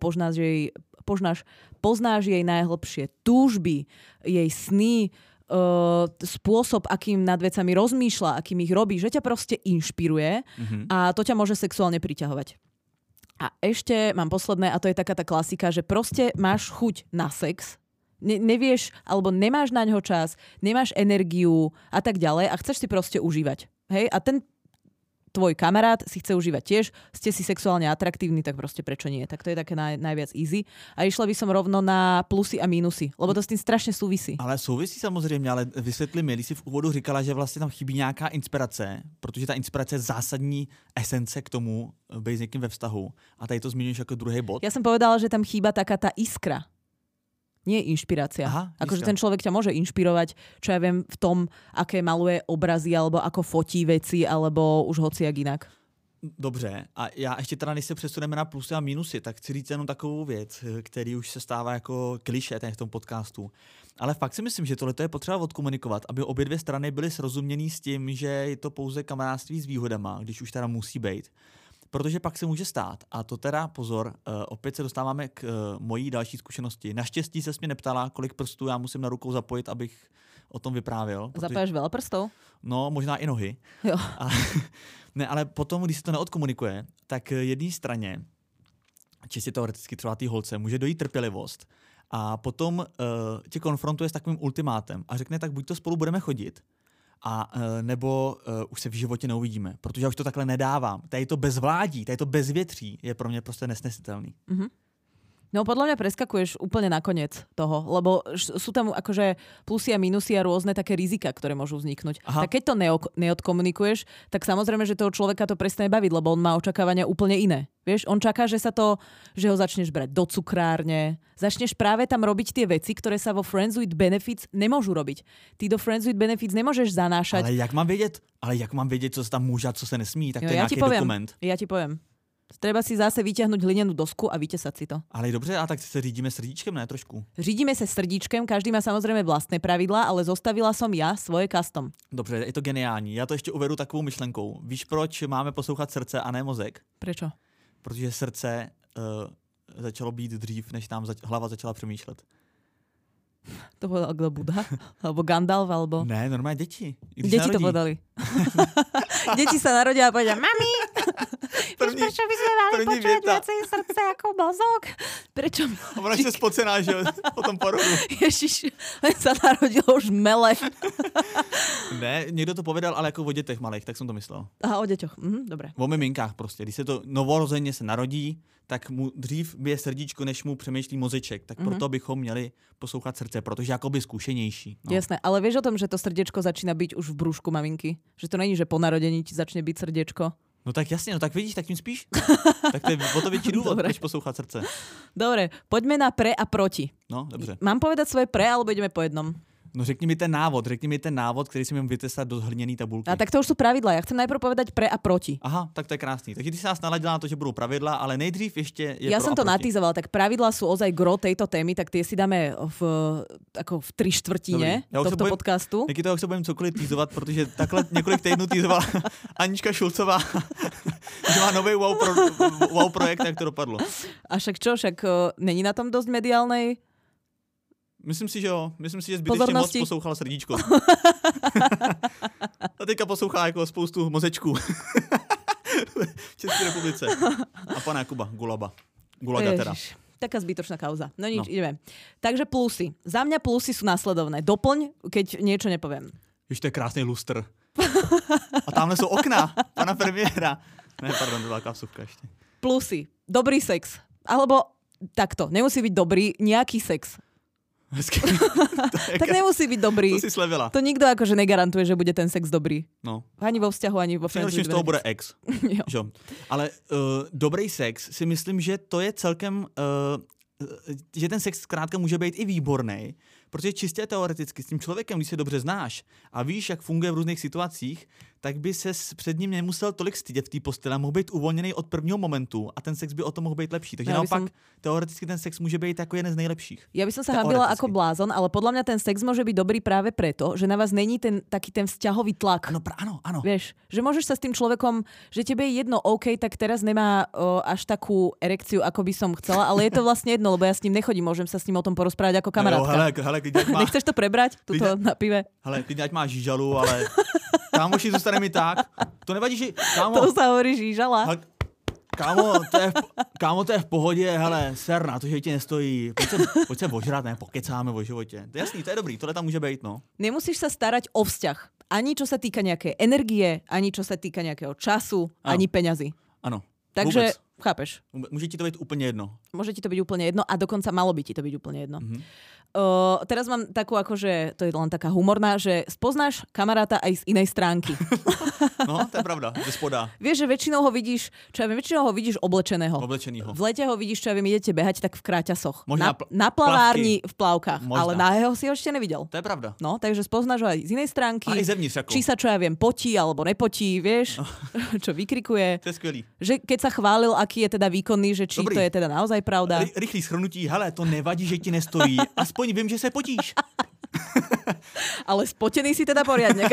poznáš jej najhlbšie túžby, jej sny, spôsob, akým nad vecami rozmýšľa, akým ich robí, že ťa proste inšpiruje a to ťa môže sexuálne priťahovať. A ešte mám posledné, a to je taká tá klasika, že proste máš chuť na sex, nevieš, alebo nemáš na ňo čas, nemáš energiu a tak ďalej a chceš si proste užívať. Hej? A ten tvoj kamarát si chce užívať tiež, ste si sexuálne atraktívni, tak proste prečo nie? Tak to je také najviac easy. A išla by som rovno na plusy a mínusy, lebo to s tým strašne súvisí. Ale souvisí samozřejmě, ale vysvětli mi, když jsi v úvodu říkala, že vlastně tam chybí nějaká inspirace, protože ta inspirace je zásadní esence k tomu být s někým ve vztahu. A tady to zmiňuješ jako druhý bod. Ja som povedala, že tam chýba taká tá iskra. Nie inšpirácia. Akože ten človek ťa môže inšpirovať, čo ja viem, v tom, aké maluje obrazy, alebo ako fotí veci, alebo už hociak inak. Dobře, a já ještě teda, než se přesuneme na plusy a mínusy, tak chci říct jenom takovou věc, který už se stává jako klišé v tom podcastu. Ale fakt si myslím, že tohle je potřeba odkomunikovat, aby obě dvě strany byly srozuměný s tím, že je to pouze kamarádství s výhodama, když už teda musí být. Protože pak se může stát, a to teda pozor, opět se dostáváme k mojí další zkušenosti. Naštěstí se mě neptala, kolik prstů já musím na rukou zapojit, abych o tom vyprávěl. Zapájaš veľa prstov? No, možná i nohy. Jo. Ne, ale potom, když se to neodkomunikuje, tak jedné straně, čistě teoreticky třeba té holce, může dojít trpělivost a potom tě konfrontuje s takovým ultimátem a řekne, tak buď to spolu budeme chodit, a nebo už se v životě neuvidíme, protože já už to takhle nedávám. Tady to bezvládí, tady to bezvětří je pro mě prostě nesnesitelný. Mm-hmm. No podľa mňa preskakuješ úplne na koniec toho, lebo sú tam akože plusy a minusy a rôzne také rizika, ktoré môžu vzniknúť. Aha. Tak keď to neodkomunikuješ, tak samozrejme, že toho človeka to prestane baviť, lebo on má očakávania úplne iné. Vieš, on čaká, že ho začneš brať do cukrárne, začneš práve tam robiť tie veci, ktoré sa vo Friends with Benefits nemôžu robiť. Ty do Friends with Benefits nemôžeš zanášať. Ale jak mám vědět, co se tam může a co se nesmí? Tak to je nějaký dokument. Ja ti poviem. Treba si zase vyťahnuť hlinenú dosku a vytesať si to. Ale dobře, a tak se řídíme srdíčkem, ne trošku? Řídíme sa srdíčkem, každý má samozrejme vlastné pravidlá, ale zostavila som ja svoje custom. Dobře, je to geniální. Já to ještě uvedu takovou myšlenkou. Víš, proč máme poslouchat srdce a ne mozek? Prečo? Protože srdce začalo být dřív, než nám hlava začala přemýšlet. To povedal kdo, Buddha? Alebo Gandalf? Alebo... Ne, normálně děti. Deti to povedali. Deti sa narodia a povedia, mami, prečo by sme mali počúvať viacej srdce ako mozog? Prečo? Ona je spocená, že po tom porodu. Ježiš, len sa narodilo už mele. Ne, někdo to povedal, ale jako o dětech malých, tak jsem to myslel. Aha, o děťoch, dobré. O miminkách prostě. Když se to novorozeně se narodí, tak mu dřív bije srdíčko, než mu přemýšlí mozeček. Tak proto bychom měli poslouchat srdce, protože jakoby zkušenější. No. Jasné, ale vieš o tom, že to srdiečko začína byť už v brúšku maminky? Že to není, že po narodení ti začne byť srdiečko? No tak jasně, no tak vidíš, tak tím spíš. Tak to je o to větší důvod, proč poslouchat srdce. Dobre, poďme na pre a proti. No, dobře. Mám povedať svoje pre, alebo ideme po jednom? No řekni mi ten návod, který si mám vytesat do hliněné tabulky. A tak to už sú pravidla. Ja chcem najprv povedať pre a proti. Aha, tak to je krásný. Takže ty si nás naladila na to, že budou pravidla, ale nejdřív ještě je ja pro som a to proti. natýzovala, tak pravidla sú ozaj gro tejto témy, tak tie si dáme v 3/4 tohto podcastu. Taky toho se budem cokoliv týzovat, protože takhle několik týdnů týzovala Anička Šulcová, že má nový wow projekt, jak to dopadlo. A však čo, není na tom dosť mediálnej? Myslím si, že jo. Myslím si, že zbytečně moc poslouchala srdíčko. A teďka poslouchá jako spoustu mozečků. V České republice. A pana Jakuba Gulaga teda. Taká zbytočná kauza. No nič, ideme. Takže plusy. Za mňa plusy sú následovné. Doplň, keď niečo nepoviem. Víš, to je krásný lustr. A tamhle sú okna pana premiéra. Ne, pardon, to byla kávsovka ešte. Plusy. Dobrý sex. Alebo takto. Nemusí byť dobrý, nejaký sex. Tak nemusí byť dobrý. To si slevila. To nikto akože negarantuje, že bude ten sex dobrý. No. Ani vo vzťahu, ani vo friendship. Z toho bude ex. Jo. Ale dobrý sex si myslím, že to je celkem... že ten sex zkrátka může být i výborný, protože čistě teoreticky s tím člověkem, když se dobře znáš a víš, jak funguje v různých situacích, tak by ses před ním nemusel tolik stydět v té posteli a mohl být uvolněný od prvního momentu a ten sex by o tom mohl být lepší. Takže naopak teoreticky ten sex může být jako jeden z nejlepších. Ja by som sa hambila ako blázon, ale podľa mňa ten sex môže byť dobrý práve preto, že na vás není taký ten vzťahový tlak. Áno. Vieš, že môžeš sa s tým človekom, že tebe je jedno, OK, tak teraz nemá až takú erekciu, ako by som chcela, ale je to vlastne jedno, lebo ja s ním nechodím, môžem sa s ním o tom porozprávať ako kamarátka. Hele, nechceš to prebrať? Tuto na pive? Hele, klidně ať máš žížalu, ale kámoši zůstane mi tak. To nevadí, že... Kámo, to sa hovorí žížala. Kámo, to je v pohodě, hele, ser na to, že ti nestojí. Pojď se ožrat, ne, pokecáme o životě. To je jasný, to je dobrý, tohle tam může být, no. Nemusíš sa starať o vzťah. Ani čo sa týka nejakej energie, ani čo sa týka nejakého času, ani peňazí. Ano. Takže, vůbec. chápeš? Může ti to být úplně jedno. Môže ti to byť úplne jedno a dokonca malo by ti to byť úplne jedno. Teraz mám takú akože, to je len taká humorná, že spoznáš kamaráta aj z inej stránky. No, to je pravda, ze spoda. Vieš, že väčšinou ho vidíš, väčšinou ho vidíš oblečeného. Oblečenýho. V lete ho vidíš, čo ja viem, idete behať tak v kráťasoch. Možná na plavárni v plavkách, možná. ale nahého si ho ešte nevidel. To je pravda. No, takže spoznáš ho aj z inej stránky. A aj zevnitř ako. Či sa, čo ja viem, potí alebo nepotí, vieš, čo vykrikuje. To je skvělý. Že keď sa chválil, aký je teda výkonný, že či Dobrý. to je teda naozaj pravda. Rychlý shrnutí, hele, to nevadí, že ti nestojí. Aspoň vím, že se potíš. Ale spotený si teda poriadne.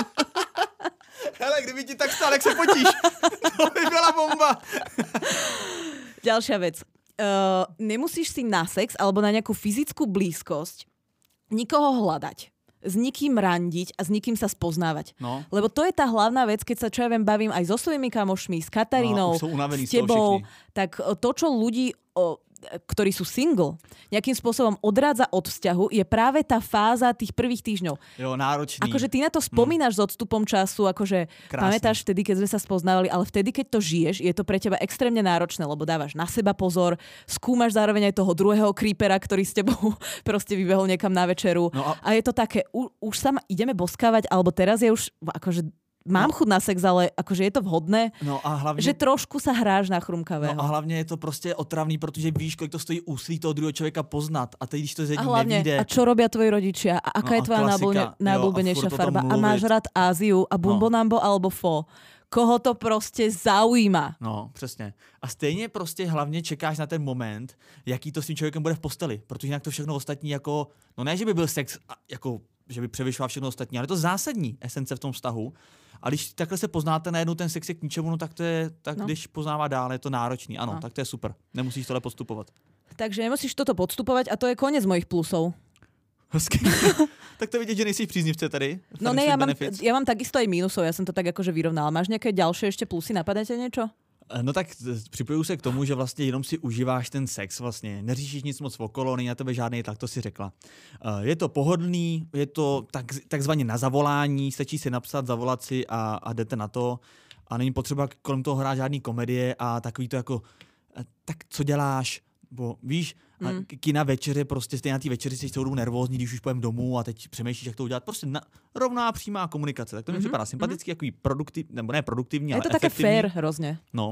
Hele, kdyby ti tak stál, jak se potíš. To by byla bomba. Ďalšia vec. Nemusíš si na sex alebo na nejakú fyzickú blízkosť nikoho hľadať. S nikým randiť a s nikým sa spoznávať. No. Lebo to je tá hlavná vec, keď sa čo ja viem, bavím aj so svojimi kamošmi, s Katarínou, s tebou, tak to, čo ľudí, ktorí sú single, nejakým spôsobom odrádza od vzťahu, je práve tá fáza tých prvých týždňov. Jo, náročný. Akože ty na to spomínaš s odstupom času, akože pamätáš vtedy, keď sme sa spoznávali, ale vtedy, keď to žiješ, je to pre teba extrémne náročné, lebo dávaš na seba pozor, skúmaš zároveň aj toho druhého creepera, ktorý s tebou proste vybehol niekam na večeru. No a je to také, už sa ideme boskávať, alebo teraz je už akože mám chuť na sex, ale akože je to vhodné, no a hlavně, že trošku sa hráš na chrumkavého. No a hlavně je to prostě otravný, protože víš, kolik to stojí úsilí toho druhého člověka poznat. A teď, když to z jedním nevíde... A čo robia tvoji rodičia? A aká je tvoja najobľúbenejšia farba? A máš rád Áziu a Bumbonambo alebo Fo? Koho to prostě zaujíma? No, přesně. A stejně prostě hlavně čekáš na ten moment, jaký to s tím člověkem bude v posteli. Protože jinak to všechno ostatní jako... No ne, že by byl sex jako... že by převyšoval všechno ostatní, ale to zásadní esence v tom vztahu. A když takhle se poznáte najednou, ten sex je k ničemu, no tak to je, tak no. Když poznává dál, je to náročný. Ano, no. Tak to je super. Nemusíš tohle podstupovat. Takže nemusíš toto podstupovať a to je konec mojich plusov. Tak to vidět, že nejsi příznivce tady. No ne, ja mám takisto aj mínusov, ja som to tak akože vyrovnala. Máš nejaké ďalšie ešte plusy, napadá ťa niečo? No tak připojuju se k tomu, že vlastně jenom si užíváš ten sex vlastně. Neříšíš nic moc okolo, není na tebe žádný tlak, to si řekla. Je to pohodlný, je to takzvaně na zavolání, stačí si napsat, zavolat si a jdete na to. A není potřeba kolem toho hrát žádný komedie a takový to jako, tak co děláš? Bo víš, kina večeře, prostě stejně na té večeři jsi celou dobu nervózní, když už pojem domů a teď přemýšlíš, jak to udělat. Prostě rovná přímá komunikace. Tak to mi připadá sympatický, jaký produktivní, nebo ne produktivní, ale efektivní. Je to také fair hrozně. No.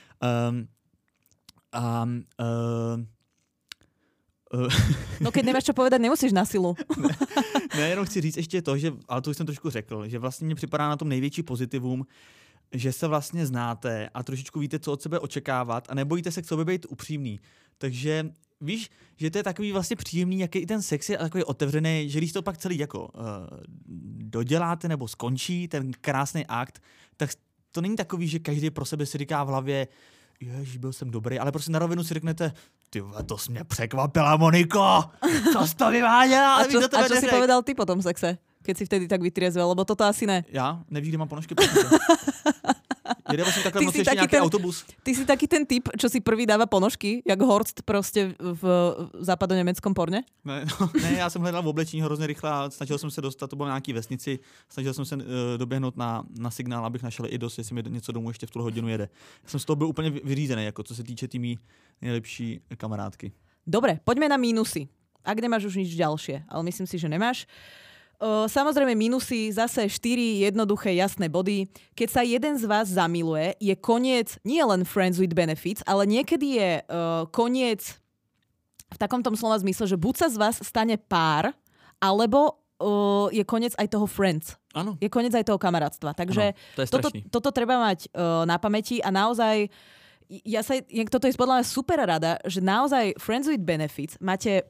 No keď nemáš čo povedať, nemusíš na silu. Ne, jenom chci říct ještě to, že, ale to už jsem trošku řekl, že vlastně mě připadá na tom největší pozitivum, že se vlastně znáte a trošičku víte, co od sebe očekávat a nebojíte se k sobě být upřímný. Takže víš, že to je takový vlastně příjemný, jaký i ten sex je a takový otevřený, že když to pak celý jako doděláte nebo skončí ten krásný akt, tak to není takový, že každý pro sebe si říká v hlavě, ježiš, byl jsem dobrý, ale prostě na rovinu si řeknete, ty to jsi mě překvapila, Moniko, co jsi to vyváděla? A čo si povedal ty po tom sexe? Keď si vtedy tak vytriezvel, lebo toto asi ne. Já? Nevíš, kde mám ponožky? Jede vlastně takhle moc ještě nějaký autobus. Ty si taký ten typ, čo si prvý dáva ponožky, jak Horst prostě v západoněmeckom porně? Ne, já jsem hledal v oblečení hrozně rychle a snažil jsem se dostat, to bylo na nějaký vesnici, snažil jsem se doběhnout na signál, abych našel i dost, jestli mi něco domů ještě v tuhle hodinu jede. Já jsem z toho byl úplně vyřízený, jako co se týče tými nejlepší kamarádky. Dobre, poďme na mínusy. Ak nemáš už nič ďalšie, ale myslím si, že nemáš. Samozrejme minusy, zase 4 jednoduché, jasné body. Keď sa jeden z vás zamiluje, je koniec nie len friends with benefits, ale niekedy je koniec v takom tom slova zmysle, že buď sa z vás stane pár, alebo je koniec aj toho friends. Áno. Je koniec aj toho kamarátstva. Takže toto treba mať na pamäti a naozaj toto je podľa mňa super rada, že naozaj friends with benefits máte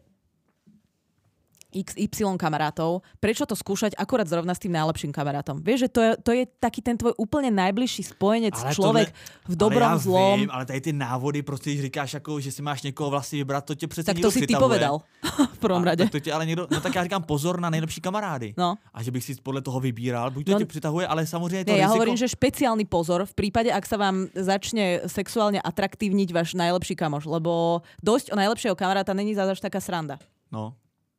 XY kamarátov, prečo to skúšať akurát zrovna s tým najlepším kamarátom? Vieš, že to je taký ten tvoj úplne najbližší spojenec, človek v dobrom, zlom. Vím, ale tady ty návody, prostě když říkáš, jako, že si máš někoho vlastně vybrat, to tě přece tak někdo to si přitahuje. ty povedal v prvom rade. Tak to tě ale někdo, no tak já říkám pozor na nejlepší kamarády. No. A že bych si podle toho vybíral, buď to tě přitahuje, ale samozřejmě to ja riziko... hovorím, že špeciálny pozor v prípade, ak sa vám začne sexuálne atraktívniť váš najlepší kamoš, lebo dosť o najlepšieho kamaráta není zase taká sranda. No.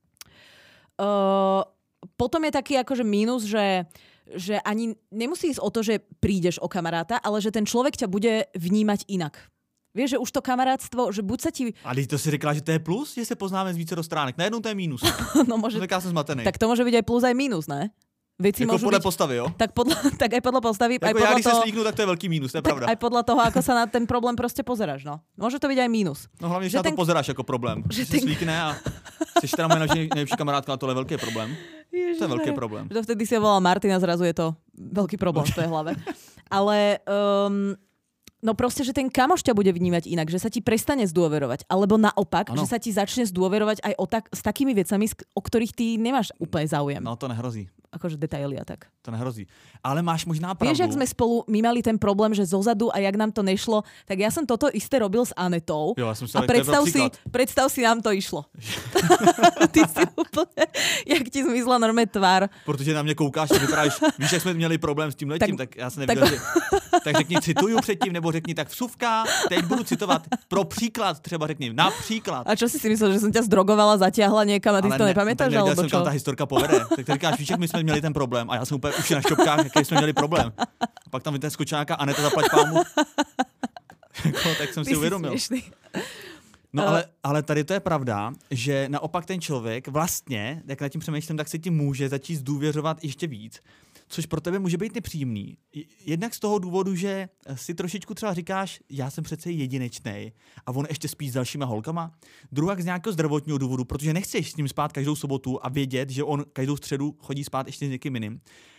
Potom je taký akože mínus, že ani nemusí ísť o to, že prídeš o kamaráta, ale že ten človek ťa bude vnímať inak. Vieš, že už to kamarátstvo, že buď sa ti... Ale to si řekla, že to je plus, že se poznáme z více stránek. Najednou to je mínus. No môže... Tak já jsem zmatený. Tak to môže byť aj plus, aj mínus, ne? Veci jako podle byť... postavy, jo? Tak aj podľa postavy. Jako aj podľa já, když toho... se slíknu, tak to je velký mínus, to je pravda. Aj podľa toho, ako sa na ten problém proste pozeráš, no. Môže to byť aj mínus. No hlavně, že na to pozeráš jako problém. Že si slíkne a jsi teda moje nejlepší kamarádka, a tohle je velký problém. Ježiš, to je veľký problém. To vtedy si volal Martina, zrazu je to veľký problém v tvojej hlave. Ale no proste, že ten kamoš ťa bude vnímať inak, že sa ti prestane zdôverovať. Alebo naopak, že sa ti začne zdôverovať aj s takými vecami, o ktorých ty nemáš úplne záujem. No to nehrozí. Akože detaily a tak. To nehrozí. Ale máš možná pravdu. Vieš, jak sme spolu, my mali ten problém, že zozadu a jak nám to nešlo, tak ja som toto isté robil s Anetou. Jo, ja som a predstav si, nám to išlo. Ty si úplne, jak ti zmizla normálne tvár. Protože na mě koukáš a vyprávíš, víš, jak jsme měli problém s tím letím, tak já jsem nevěděl, tak řekni cituju předtím, nebo řekni tak vsuvka, teď budu citovat pro příklad, třeba řekni například. A čo si myslel, že som ťa zdrogovala, zatiahla niekam a ty si to nepamätáš? Ale nevěděl jsem, kam ta historka povede. Tak ty říkáš, víš, jak my jsme měli ten problém a já jsem úplně už na šťopkách, jaký jsme měli problém. A pak tam ten skočáka Aneta zaplať pámu. Tak jsem si uvědomil. No ale tady to je pravda, že naopak ten člověk vlastně, jak nad tím přemýšlím, tak se ti může začít zdůvěřovat ještě víc, což pro tebe může být nepříjemný. Jednak z toho důvodu, že si trošičku třeba říkáš, já jsem přece jedinečnej a on ještě spí s dalšíma holkama. Druhak z nějakého zdravotního důvodu, protože nechceš s ním spát každou sobotu a vědět, že on každou středu chodí spát ještě s někým jiným.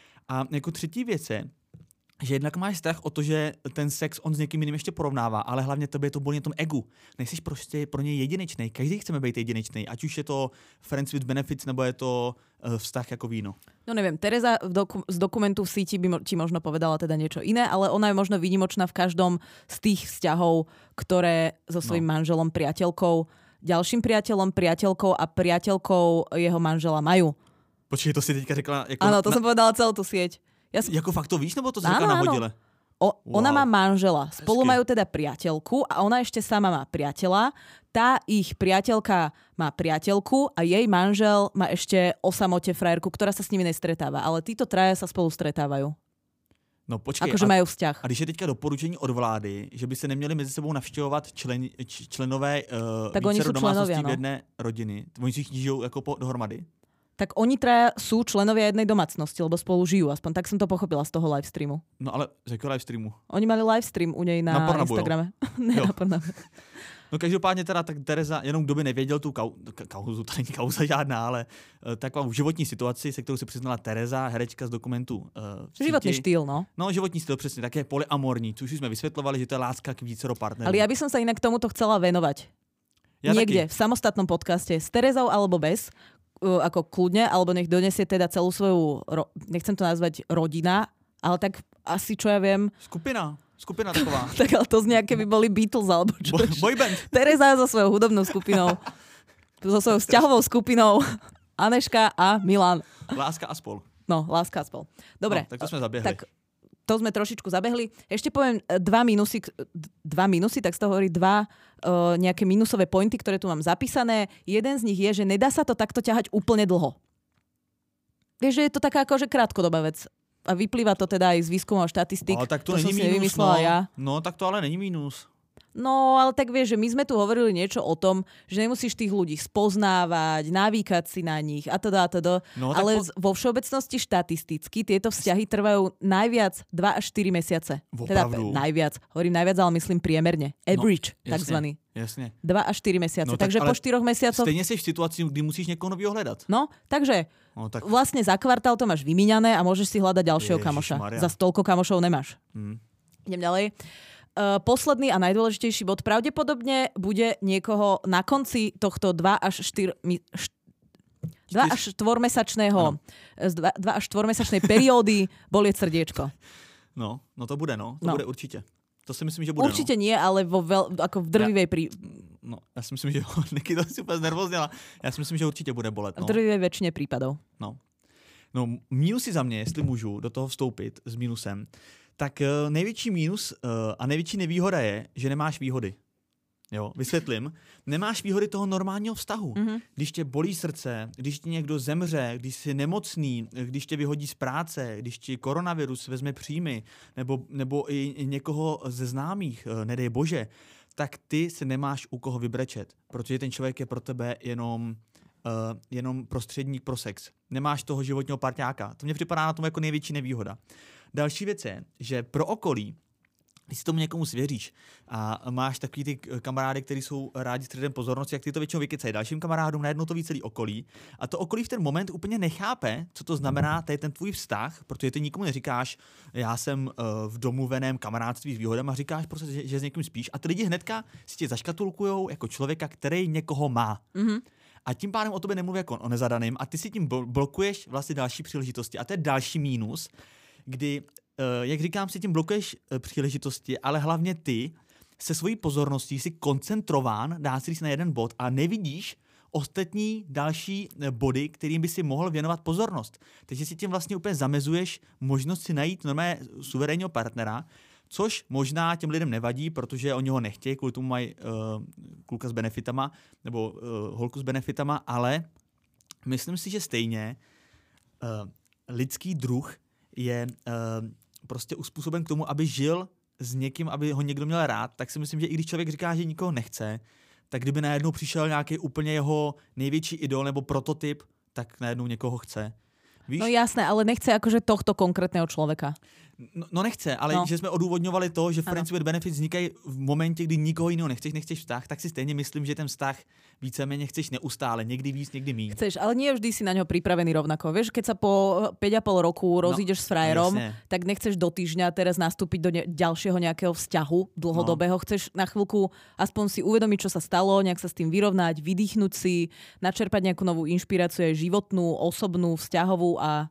A jako třetí věc je, že jednak máš strach o to, že ten sex on s někým jiným ještě porovnává, ale hlavně tebe je to bolí na tom egu. Nejsiš prostě pro něj jedinečnej. Každý chceme být jedinečnej, ať už je to friends with benefits, nebo je to vztah jako víno. No neviem, Tereza z dokumentu v síti by ti možno povedala teda niečo iné, ale ona je možno výnimočná v každom z tých vzťahov, ktoré so svojím manželom, priateľkou, ďalším priateľom, priateľkou a priateľkou jeho manžela majú. Počkej, to si teďka řekla... Jako áno, to som povedala celú tú sieť. Jako fakt to víš, nebo to si řekla nahodile? Ona má manžela. Spolu majú teda priateľku a ona ešte sama má priateľa. Tá ich priateľka má priateľku a jej manžel má ešte o samote frajerku, ktorá sa s nimi nestretáva. Ale títo traja sa spolu stretávajú. No počkej, akože majú vzťah. A když je teďka doporučení od vlády, že by se neměli mezi sebou navštěvovat členové vícero domácností v jedné rodiny, oni si žijou jako dohromady? Tak oni traja sú členovia jednej domácnosti, lebo spolu žijú. Aspoň tak som to pochopila z toho livestreamu. No ale z jakého livestreamu? Oni mali livestream u nej na Instagrame. Ne, na Pornhubu. No každopádně teda tak Tereza, jenom kdo by nevěděl tu kauzu, to není kauza žádná, ale takovou životní situaci, se kterou se přiznala Tereza, herečka z dokumentu Životný štýl, no. No, životní styl, přesně, tak je polyamorní, což už jsme vysvětlovali, že to je láska k vícero partnerům. Ale ja by som sa inak tomuto chcela venovať. Ja niekde, v samostatnom podcaste, s Terezou alebo bez, ako kľudne, alebo nech donesie teda celú svoju, nechcem to nazvať rodina, ale tak asi, čo ja viem... Skupina taková. Tak ale to znie, keby boli Beatles, alebo čo. Boyband. Tereza so svojou hudobnou skupinou, so svojou vzťahovou skupinou, Aneška a Milan. Láska a spol. No, Láska a spol. Dobre. No, tak to sme zabiehli. Tak to sme trošičku zabehli. Ešte poviem dva minusy, tak z toho hovorí nejaké minusové pointy, ktoré tu mám zapísané. Jeden z nich je, že nedá sa to takto ťahať úplne dlho. Vieš, že je to taká akože krátkodobá vec. A vyplýva to teda aj z výskumov a štatistík. Ale tak to není som si nevymyslela ja. No, tak to ale není mínus. No, ale tak vieš, že my sme tu hovorili niečo o tom, že nemusíš tých ľudí spoznávať, navýkať si na nich a teda. No, ale vo všeobecnosti štatisticky tieto vzťahy trvajú najviac 2 až 4 mesiace. Opravdu? Teda najviac. Hovorím najviac, ale myslím priemerne. Average, takzvaný. Jasně. 2 až 4 mesiace. No, takže po 4 mesiacoch... Stejně jsi v situaci, kdy musíš někoho nového hledat. No, takže tak... vlastne za kvartál to máš vymíňané a môžeš si hľadať ďalšieho kamoša. Za toľko kamošov nemáš. Idem ďalej. Posledný a najdôležitejší bod pravdepodobne bude niekoho na konci tohto 2 až 4-mesačného 2 až 4-mesačnej periódy bolieť srdiečko. No to bude, to bude určite. To si myslím, že bude. Určite nie, ale ako v drvivej No, já si myslím, že Niky to si úplně znervozněla. Já si myslím, že určitě bude bolet. V drvivej väčšine prípadov. No, mínusy za mě, jestli můžu do toho vstoupit s mínusem, tak největší mínus a největší nevýhoda je, že nemáš výhody. Jo, vysvětlím. Nemáš výhody toho normálního vztahu. Mm-hmm. Když tě bolí srdce, když ti někdo zemře, když jsi nemocný, když tě vyhodí z práce, když ti koronavirus vezme příjmy, nebo i někoho ze známých, nedej bože, tak ty se nemáš u koho vybrečet, protože ten člověk je pro tebe jenom prostředník pro sex. Nemáš toho životního parťáka. To mně připadá na tom jako největší nevýhoda. Další věc je, že pro okolí, když si tomu někomu svěříš a máš takový ty kamarády, kteří jsou rádi středem pozornosti, jak ty to většinou vykecají dalším kamarádům, najednou to ví celý okolí. A to okolí v ten moment úplně nechápe, co to znamená, to je ten tvůj vztah, protože ty nikomu neříkáš, já jsem v domluveném kamarádství s výhodama, říkáš prostě, že s někým spíš a ty lidi hnedka si tě zaškatulkujou jako člověka, který někoho má. Mm-hmm. A tím pádem o tobě nemluví jako o nezadaným a ty si tím blokuješ vlastně další příležitosti. A to je další mínus, kdy, jak říkám, si tím blokuješ příležitosti, ale hlavně ty se svojí pozorností jsi koncentrován, dá si říct na jeden bod a nevidíš ostatní další body, kterým by si mohl věnovat pozornost. Takže si tím vlastně úplně zamezuješ možnost si najít normálně suverénního partnera, což možná těm lidem nevadí, protože oni ho nechtějí, kvůli tomu mají kluka s benefitama nebo holku s benefitama, ale myslím si, že stejně lidský druh je prostě uspůsoben k tomu, aby žil s někým, aby ho někdo měl rád, tak si myslím, že i když člověk říká, že nikoho nechce, tak kdyby najednou přišel nějaký úplně jeho největší idol nebo prototyp, tak najednou někoho chce. Víš? No jasné, ale nechce akože tohto konkrétneho človeka. No nechce, ale že jsme odůvodňovali to, že Friends with Benefits vznikají v momentě, kdy nikoho jiného nechceš vztah, tak si stejně myslím, že ten vztah víceméně chceš neustále, někdy víc, někdy míň. Chceš, ale nie vždy si na ňo pripravený rovnako. Vieš, keď sa po 5,5 roku rozídeš s frajerom, tak nechceš do týždňa teraz nastúpiť do ďalšieho nejakého vzťahu dlhodobého. Chceš na chvíľku aspoň si uvedomiť, čo sa stalo, nejak sa s tým vyrovnať, vydýchnuť si, načerpať nejakú novú inšpiráciu, aj životnú, osobnú, vzťahovú a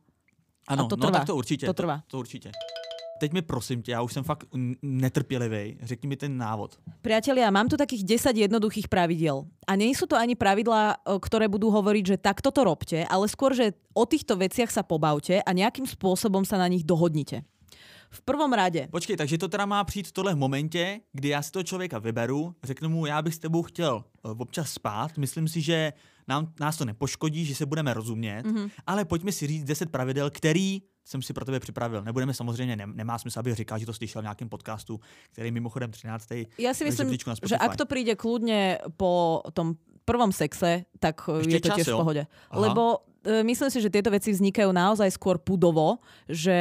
to trvá. Tak to určitě. To trvá. To určitě. Teď mi prosím tě, já už jsem fakt netrpělivý. Řekni mi ten návod. Priatelia, mám tu takých 10 jednoduchých pravidiel. A nie sú to ani pravidlá, ktoré budú hovoriť, že takto to robte, ale skôr, že o týchto veciach sa pobavte a nejakým spôsobom sa na nich dohodnite. V prvom rade. Počkej, takže to teda má přijít tohle v momentě, kdy já si toho člověka vyberu, řeknu mu, já bych s tebou chtěl občas spát, myslím si, že nás to nepoškodí, že se budeme rozumět, ale pojďme si říct 10 pravidel, který jsem si pro tebe připravil. Nebudeme samozřejmě, nemá smysl, aby říkal, že to slyšel v nějakém podcastu, který mimochodem 13. Ja si myslím, že ak to príde kľudne po tom prvom sexe, tak ešte je to tiež v pohode. Aha. Lebo myslím si, že tieto veci vznikajú naozaj skôr pudovo, že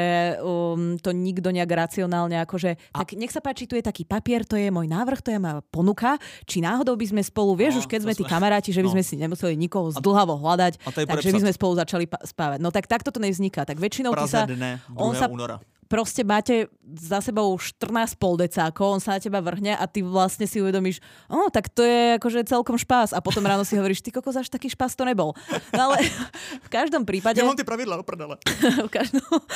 to nikto nejak racionálne akože, tak nech sa páči, tu je taký papier, to je môj návrh, to je moja ponuka, či náhodou by sme spolu, vieš, už keď sme tí kamaráti, že by sme si nemuseli nikoho zdlhavo hľadať, takže by sme spolu začali spávať. No tak takto to nevzniká. Tak väčšinou ty sa... února. Proste máte za sebou 14,5 decákov, on sa na teba vrhne a ty vlastne si uvedomíš, tak to je akože celkom špás. A potom ráno si hovoríš, ty kokos, až taký špás to nebol. No ale v každom prípade... Ja mám tie pravidlá, oprdele. V každom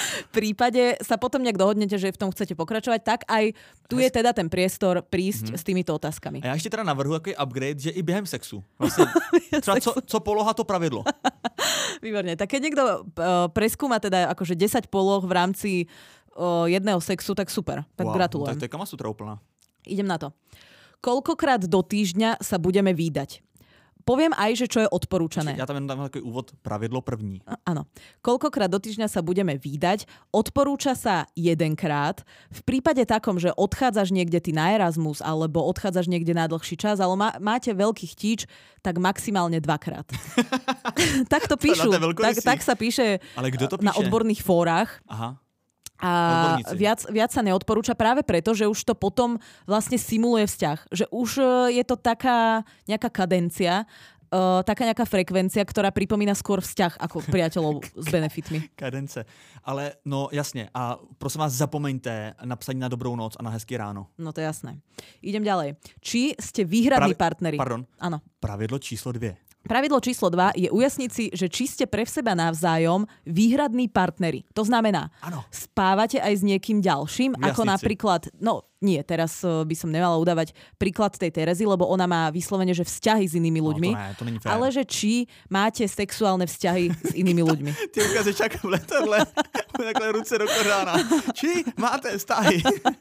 prípade sa potom nejak dohodnete, že v tom chcete pokračovať, tak aj tu je teda ten priestor prísť s týmito otázkami. A ja ešte teda navrhu taký upgrade, že i během sexu. Vlastne, třeba co poloha, to pravidlo. Výborne. Tak keď niekto preskúma teda akože 10 poloh v rámci jedného sexu, tak super. Tak gratulujem. To je Kamasutra úplná. Idem na to. Koľkokrát do týždňa sa budeme vídať? poviem aj, že čo je odporúčané. Ja tam jenom dám takový úvod, pravidlo první. Áno. Koľkokrát do týždňa sa budeme vídať, odporúča sa jedenkrát. V prípade takom, že odchádzaš niekde ty na Erasmus alebo odchádzaš niekde na dlhší čas, ale máte veľký chtíč, tak maximálne 2-krát. Tak to píšu. Tak sa píše, na odborných fórach. Aha. A viac sa neodporúča práve preto, že už to potom vlastne simuluje vzťah. Že už je to taká nejaká kadencia, taká nejaká frekvencia, ktorá pripomína skôr vzťah ako priateľov s benefitmi. Kadence. Ale no jasne. A prosím vás, zapomeňte napsať na dobrou noc a na hezký ráno. No to je jasné. Idem ďalej. Či ste výhradní partneri? Pardon. Áno. Pravidlo číslo 2. Pravidlo číslo 2 je ujasniť si, že či ste pre seba navzájom výhradní partneri. To znamená, spávate aj s niekým ďalším, ako napríklad, teraz by som nemala udávať príklad tej Terezy, lebo ona má vyslovene, že vzťahy s inými ľuďmi, to není fér. Ale že či máte sexuálne vzťahy s inými ľuďmi. Ty ukáže čaká v letadle, takhle ruce do kořána. Či máte vzťahy?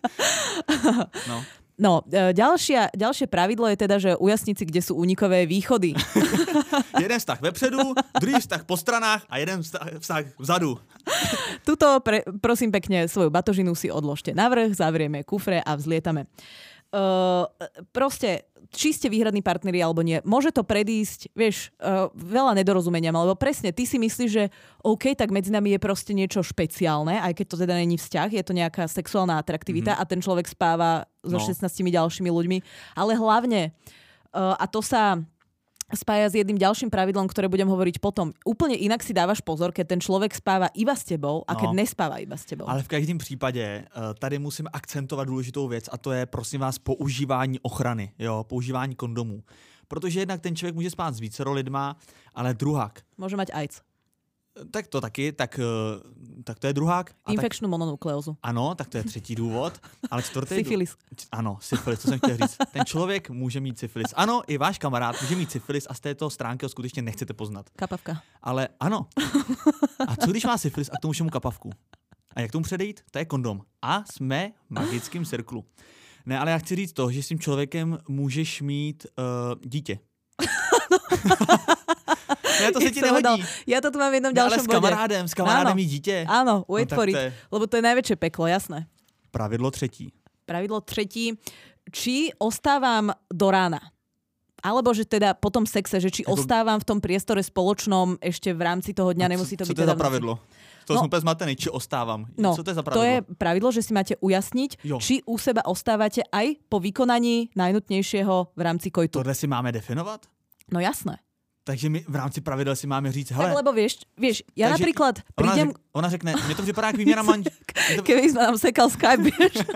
No, ďalšie pravidlo je teda, že ujasniť si, kde sú únikové východy. Jeden vztah vepředu, druhý vztah po stranách a jeden vztah vzadu. Tuto, prosím pekne, svoju batožinu si odložte na vrch, zavrieme kufre a vzlietame. Proste, či ste výhradní partneri alebo nie, môže to predísť, veľa nedorozumeniam, lebo presne, ty si myslíš, že OK, tak medzi nami je proste niečo špeciálne, aj keď to teda není vzťah, je to nejaká sexuálna atraktivita a ten človek spáva so 16 ďalšími ľuďmi, ale hlavne, a to sa spája s jedným ďalším pravidlom, ktoré budem hovoriť potom. Úplne inak si dávaš pozor, keď ten človek spáva iba s tebou a keď nespáva iba s tebou. Ale v každém případě tady musím akcentovat důležitou věc a to je, prosím vás, používání ochrany, používání kondomů. Protože jednak ten člověk může spát s vícero lidma, ale druhák. Může mať AIDS. Tak to taky, tak to je druhák. Infekčnou mononukleózu. Ano, tak to je třetí důvod. Ale čtvrtý syfilis. Ano, syfilis, to jsem chtěl říct. Ten člověk může mít syfilis. Ano, i váš kamarád může mít syfilis a z této stránky ho skutečně nechcete poznat. Kapavka. Ale ano. A co když má syfilis a k tomu všemu kapavku? A jak tomu předejít? To je kondom. A jsme v magickém cirklu. Ne, ale já chci říct to, že s tím člověkem můžeš mít dítě. Ne, to se ti nehodí. Ja to tu mám v jednom ďalšom bode. Ale s kamarádem mít dítě. Áno, wait for it. Lebo to je najväčšie peklo, jasné. Pravidlo třetí. Či ostávam do rána. Alebo že teda po tom sexe, že či ostávam v tom priestore spoločnom ešte v rámci toho dňa, nemusí to byť. Co to je za pravidlo? To som úplne zmatený, či ostávam. Co to je za pravidlo? To je pravidlo, že si máte ujasniť, či u seba ostávate aj po vykonaní najnutnejšieho v rámci kojtu. Tohle si máme definovat? No jasné. Takže my v rámci pravidel si máme říct, hele... Tak lebo vieš, ja napríklad prídem... Ona řekne, mne to připadá jak výměna Keby sme nám sekal Skype, vieš.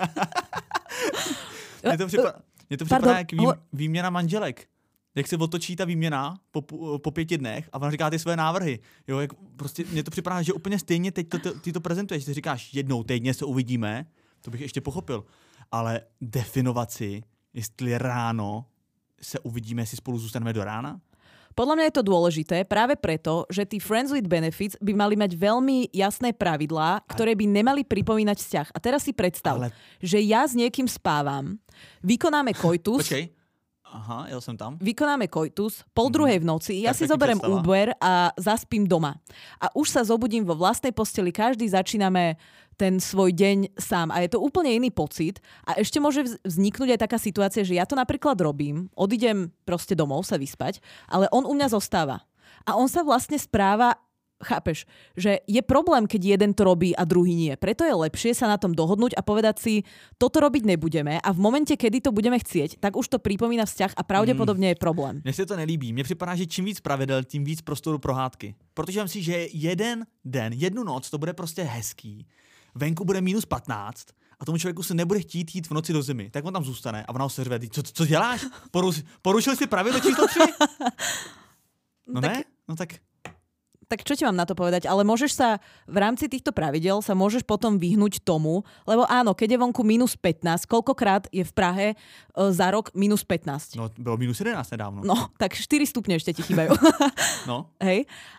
Mne to připadá jak výměna manželek. Jak se otočí ta výměna po 5 dnech a ona říká ty své návrhy. Jo, jak prostě mně to připadá, že úplně stejně teď ty to prezentuješ. Ty říkáš, jednou týdně se uvidíme, to bych ještě pochopil. Ale definovat si, jestli ráno se uvidíme, jestli spolu zůstaneme do rána? Podľa mňa je to dôležité práve preto, že tí Friends with Benefits by mali mať veľmi jasné pravidlá, ktoré by nemali pripomínať vzťah. A teraz si predstav, že ja s niekým spávam, vykonáme koitus. Počkej. Aha, ja som tam. Vykonáme koitus, 1:30 v noci, ja si zoberiem Uber a zaspím doma. A už sa zobudím vo vlastnej posteli, každý začíname ten svoj deň sám. A je to úplne iný pocit. A ešte môže vzniknúť aj taká situácia, že ja to napríklad robím, odídem proste domov sa vyspať, ale on u mňa zostáva. A on sa vlastne správa, chápeš, že je problém, keď jeden to robí a druhý nie. Preto je lepšie sa na tom dohodnúť a povedať si, toto robiť nebudeme a v momente, kedy to budeme chcieť, tak už to pripomína vzťah a pravdepodobne je problém. Mně se to nelíbí. Mně připadá, že čím víc pravidel, tím víc prostoru pro hádky. Protože myslím si, že jeden den, jednu noc to bude prostě hezký. Venku bude -15 a tomu člověku se nebude chtít jít v noci do zimy. Tak on tam zůstane a ona ho seřve. Co děláš? Porušil jsi pravidlo číslo 3? No tak... ne? No tak... Tak čo ti mám na to povedať? Ale môžeš sa v rámci týchto pravidel sa môžeš potom vyhnúť tomu, lebo áno, keď je vonku -15, koľkokrát je v Prahe za rok -15? No, bylo -11 nedávno. No, tak 4 stupne ešte ti chýbajú. No. Hej. A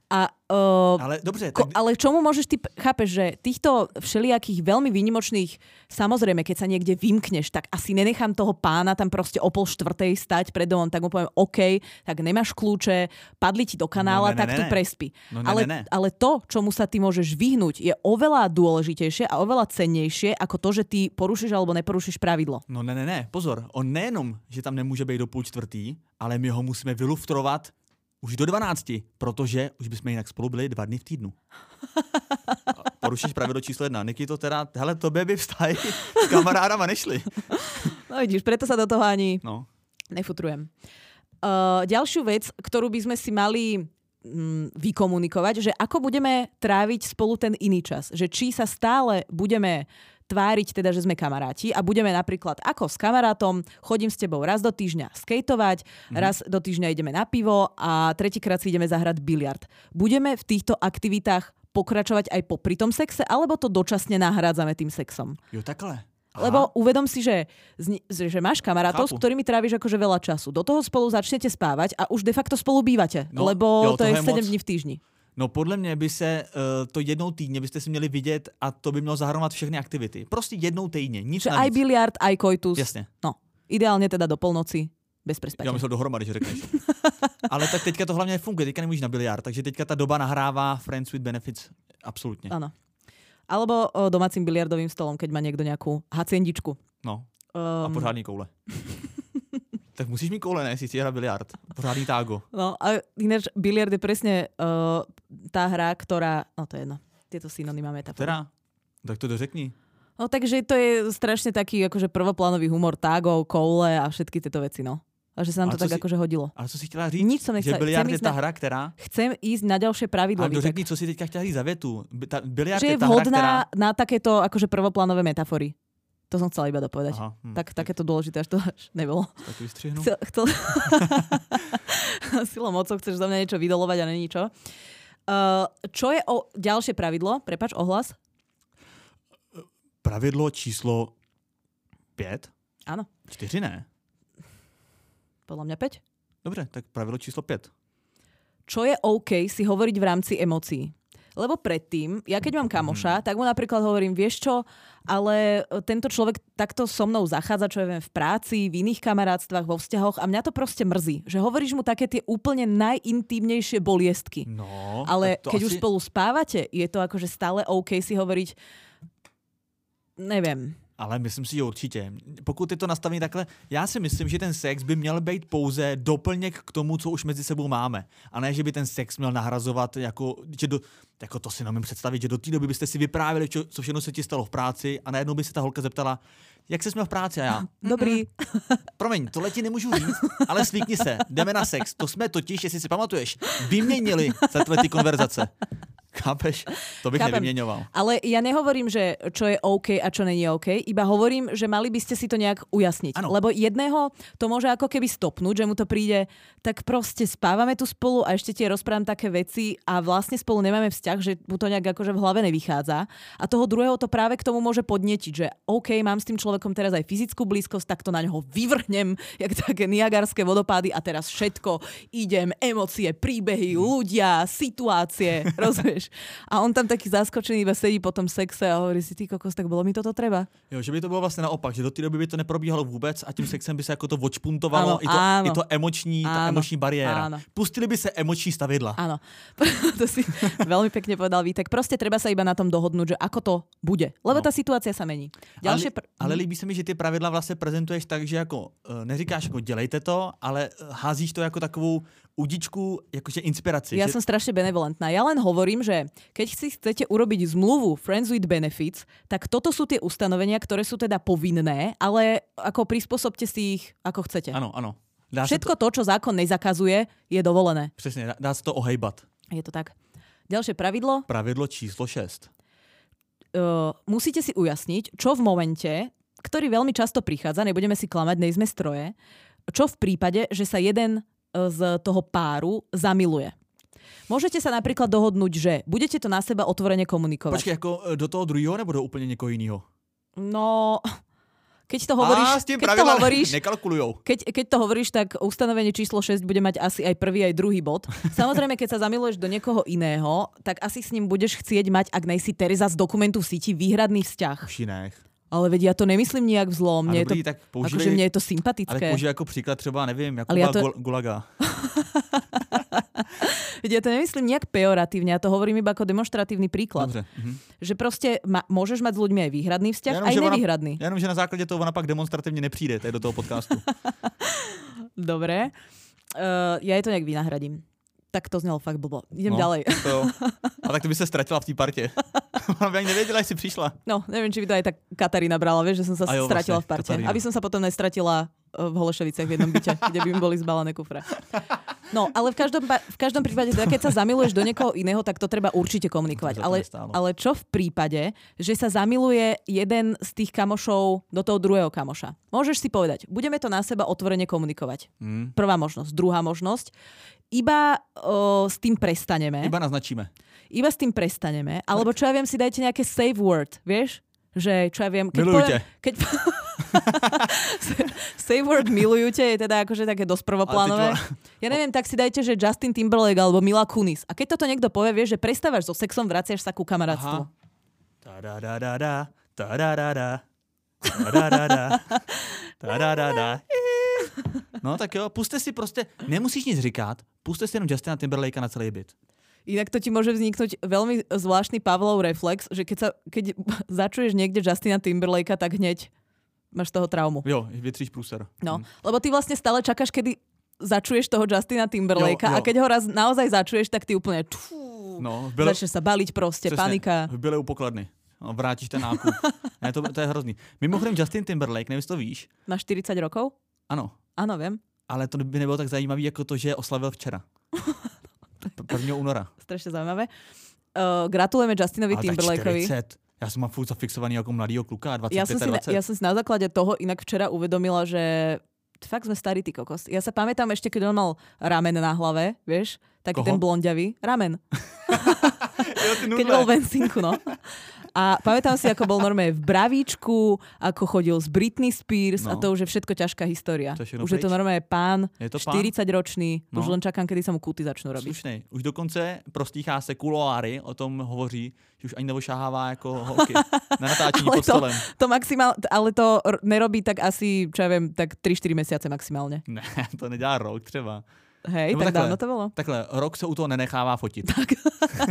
Ale dobře. Ale čomu môžeš ty, chápeš, že týchto všelijakých veľmi výnimočných, samozrejme, keď sa niekde vymkneš, tak asi nenechám toho pána tam proste o 3:30 stať pred domom, tak mu poviem, OK, tak nemáš kľúče, padli ti do kanála, tak tu prespí. Ale to, čomu sa ty môžeš vyhnúť, je oveľa dôležitejšie a oveľa cennejšie ako to, že ty porušíš alebo neporušíš pravidlo. No ne, pozor. On nejenom, že tam nemůže být do 3:30, ale my ho musíme vyluftrovat už do 12, protože už bychom jinak spolu byli 2 dny v týdnu. Porušíš pravidlo číslo 1. Niky to teda, hele, tobě by vztahy s kamarádama nešli. No vidíš, preto sa do toho ani nefutrujem. Ďalšiu vec, ktorú by sme si mali vykomunikovať, že ako budeme tráviť spolu ten iný čas. Že či sa stále budeme tváriť teda, že sme kamaráti a budeme napríklad ako s kamarátom, chodím s tebou raz do týždňa skejtovať, raz do týždňa ideme na pivo a tretíkrát si ideme zahrať biliard. Budeme v týchto aktivitách pokračovať aj popri tom sexe, alebo to dočasne nahrádzame tým sexom? Jo, takhle. Aha. Lebo uvedom si, že máš kamarátov, s ktorými tráviš akože veľa času. Do toho spolu začnete spávať a už de facto spolu bývate, lebo to je 7 dní v týždni. No podle mě by se to jednou týdně byste si měli vidět a to by mělo zahrnout všechny aktivity. Prostě jednou týdně, nic navíc. Aj biliard, aj koitus. Jasně. No, ideálně teda do polnoci, bez prespatia. Já myslel dohromady, že řekneš. Ale tak teďka to hlavně funguje, teďka nemůžeš na biliard, takže teďka ta doba nahrává Friends with Benefits, absolutně. Ano. Alebo domácím biliardovým stolom, keď má niekto nejakú haciendičku. No, a pořádný koule. Tak musíš mít koule, ne? Si hrát biliard. Pořádný tágo. No a ináč biliard je presne tá hra, ktorá... No to je jedno. Tieto synonyma metafory. Teda? Tak to dořekni. No takže to je strašne taký akože prvoplánový humor tágov, koule a všetky tieto veci, no. A že sa nám to tak akože hodilo. Ale co si chtěla říct? Nič som nechcela. Že biliard je tá hra, která... Chcem ísť na ďalšie pravidlo. Ale dořekni, co si teďka chtěla říct za větu. Biliard že je tá hra, vhodná která... na takéto akože prvoplánové metafory. To som chcela iba dopovedať. Aha, Takéto dôležité, až to nebolo. Tak vystřihnu. Silou mocou chceš za mňa niečo vydolovať a není čo. Čo je ďalšie pravidlo? Prepáč, ohlas? Pravidlo číslo 5? Áno. 4 ne? Podľa mňa 5. Dobře, tak pravidlo číslo 5. Čo je OK si hovoriť v rámci emócií? Lebo predtým, ja keď mám kamoša, tak mu napríklad hovorím, vieš čo, ale tento človek takto so mnou zachádza, čo ja viem, v práci, v iných kamarátstvách, vo vzťahoch a mňa to proste mrzí, že hovoríš mu také tie úplne najintímnejšie boliestky. No, ale keď už spolu spávate, je to akože stále OK si hovoriť, neviem. Ale myslím si, že určitě. Pokud je to nastavené takhle, já si myslím, že ten sex by měl být pouze doplněk k tomu, co už mezi sebou máme. A ne, že by ten sex měl nahrazovat, jako to si nemůžu představit, že do té doby byste si vyprávěli, co všechno se ti stalo v práci a najednou by se ta holka zeptala, jak se měl v práci a já. Dobrý. Promiň, tohle ti nemůžu říct, ale slíkni se, jdeme na sex. To jsme totiž, jestli si pamatuješ, vyměnili za ty konverzace. Chápeš? To bych nevyměňoval. Ale ja nehovorím, že čo je OK a čo není OK, iba hovorím, že mali by ste si to nejak ujasniť. Ano. Lebo jedného to môže ako keby stopnúť, že mu to príde, tak proste spávame tu spolu a ešte ti rozprávam také veci a vlastne spolu nemáme vzťah, že mu to nejak akože v hlave nevychádza. A toho druhého to práve k tomu môže podnetiť, že OK, mám s tým človekom teraz aj fyzickú blízkosť, tak to na ňoho vyvrhnem, jak také niagarské vodopády a teraz všetko idem, emócie, príbehy, ľudia, situácie, rozumieš? A on tam taký zaskočený iba sedí po tom sexe a hovorí si, ty kokos, tak bylo mi toto treba. Jo, že by to bylo vlastně naopak, že do té doby by to neprobíhalo vůbec a tím sexem by se jako to odšpuntovalo, i to emoční, ta emoční bariéra. Áno. Pustili by se emoční stavidla. Áno, to si veľmi pekne povedal Vítek. Proste treba sa iba na tom dohodnúť, že ako to bude. Lebo tá situácia sa mení. Ale líbí se mi, že ty pravidla vlastně prezentuješ tak, že jako neříkáš jako dělejte to, ale házíš to jako takovou udičku, jakože inspiraci. Ja som strašne benevolentná. Ja len hovorím, že keď si chcete urobiť zmluvu Friends with Benefits, tak toto sú tie ustanovenia, ktoré sú teda povinné, ale ako prispôsobte si ich, ako chcete. Áno, áno. Všetko to, čo zákon nezakazuje, je dovolené. Přesně, dá se to ohejbat. Je to tak. Ďalšie pravidlo. Pravidlo číslo 6. Musíte si ujasniť, čo v momente, ktorý veľmi často prichádza, nebudeme si klamať, nejsme stroje, čo v prípade, že sa jeden z toho páru zamiluje. Môžete sa napríklad dohodnúť, že budete to na seba otvorene komunikovať. Počkej, jako do toho druhého nebo do úplne niekoho iného? No, Keď to hovoríš, s tým nekalkulujou. Keď to hovoríš, tak ustanovenie číslo 6 bude mať asi aj prvý, aj druhý bod. Samozrejme, keď sa zamiluješ do niekoho iného, tak asi s ním budeš chcieť mať, ak nejsi Tereza z Dokumentu v síti, výhradný vzťah. Už nech. Ale veď ja to nemyslím nejak vzlo. Mne dobrý, je to, akože mne je to sympatické. Ale použij ako príklad třeba, neviem, Jakuba Gulaga. Veď ja to nemyslím nejak pejoratívne, ja to hovorím iba ako demonstratívny príklad. Dobre. Že proste môžeš mať s ľuďmi aj výhradný vzťah, aj nevýhradný. Jenom, že na základě toho ona pak demonstrativně nepřijde tady do toho podcastu. Dobre. Ja je to nejak vynahradím. Tak to znelo fakt blbo. Idem ďalej. A tak to by sa stratila v té partě. Ona by ani nevedela, že si prišla. No, neviem, či by to aj tak Katarína brala, vieš, že som sa stratila v parte. Katarína. Aby som sa potom nestratila v Holešoviciach v jednom byte, kde by mi boli zbalené kufre. No, ale v každom prípade, teda keď sa zamiluješ do niekoho iného, tak to treba určite komunikovať. Ale čo v prípade, že sa zamiluje jeden z tých kamošov do toho druhého kamoša? Môžeš si povedať, budeme to na seba otvorene komunikovať. Prvá možnosť. Druhá možnosť, iba s tým prestaneme. Iba naznačíme. Iba s tým prestaneme. Alebo čo ja viem, si dajte nejaké safe word, vieš? Že čo ja viem... Milujte. Safe word milujte je teda akože také dosť prvoplánové. Ja neviem, tak si dajte, že Justin Timberlake alebo Mila Kunis. A keď toto niekto povie, vieš, že prestávaš so sexom, vraciaš sa ku kamarátstvu. No tak jo, puste si prostě, nemusíš nic říkat, puste si jenom Justina Timberlakea na celý byt. Inak to ti môže vzniknúť veľmi zvláštny Pavlov reflex, že keď začuješ niekde Justina Timberlakea, tak hneď máš toho traumu. Jo, vytříš prúser. No, lebo ty vlastne stále čakáš, kedy začuješ toho Justina Timberlakea a keď ho raz naozaj začuješ, tak ty úplne začneš sa baliť proste, přesně, panika. V byle u pokladny. No, vrátíš ten nákup. Ne, to je hrozný. Mimochodem Justin Timberlake, nevím, to víš. Má 40 rokov? Ano. Áno, viem. Ale to by nebylo tak zajímavý, jako to, že oslavil včera. 1. února. Strašne zaujímavé. Gratulujeme Justinovi Timberlakeovi. 40. Ja som mám furt zafixovaný ako mladýho kluka, 25-20. Ja som si na základe toho inak včera uvedomila, že fakt sme starí, ty kokos. Ja sa pamätám ešte, keď on mal ramen na hlave, vieš? Taký ten blonďavý. Ramen. Keď bol v Ensinku, no. A pamätám si, ako bol normálne v bravíčku, ako chodil s Britney Spears a to už je všetko ťažká história. Už je to normálne pán, 40-ročný, už len čakám, kedy sa mu kuty začnú robiť. Slušnej. Už dokonce prostýchá se kuloáry, o tom hovoří, že už ani nevošahává ako holky na natáčení pod stolem. Ale to nerobí tak asi, čo ja viem, tak 3-4 mesiace maximálne. Ne, to nedělá rok třeba. Hej, tak dávno to bolo. Takhle, rok se u toho nenechává fotit. Tak.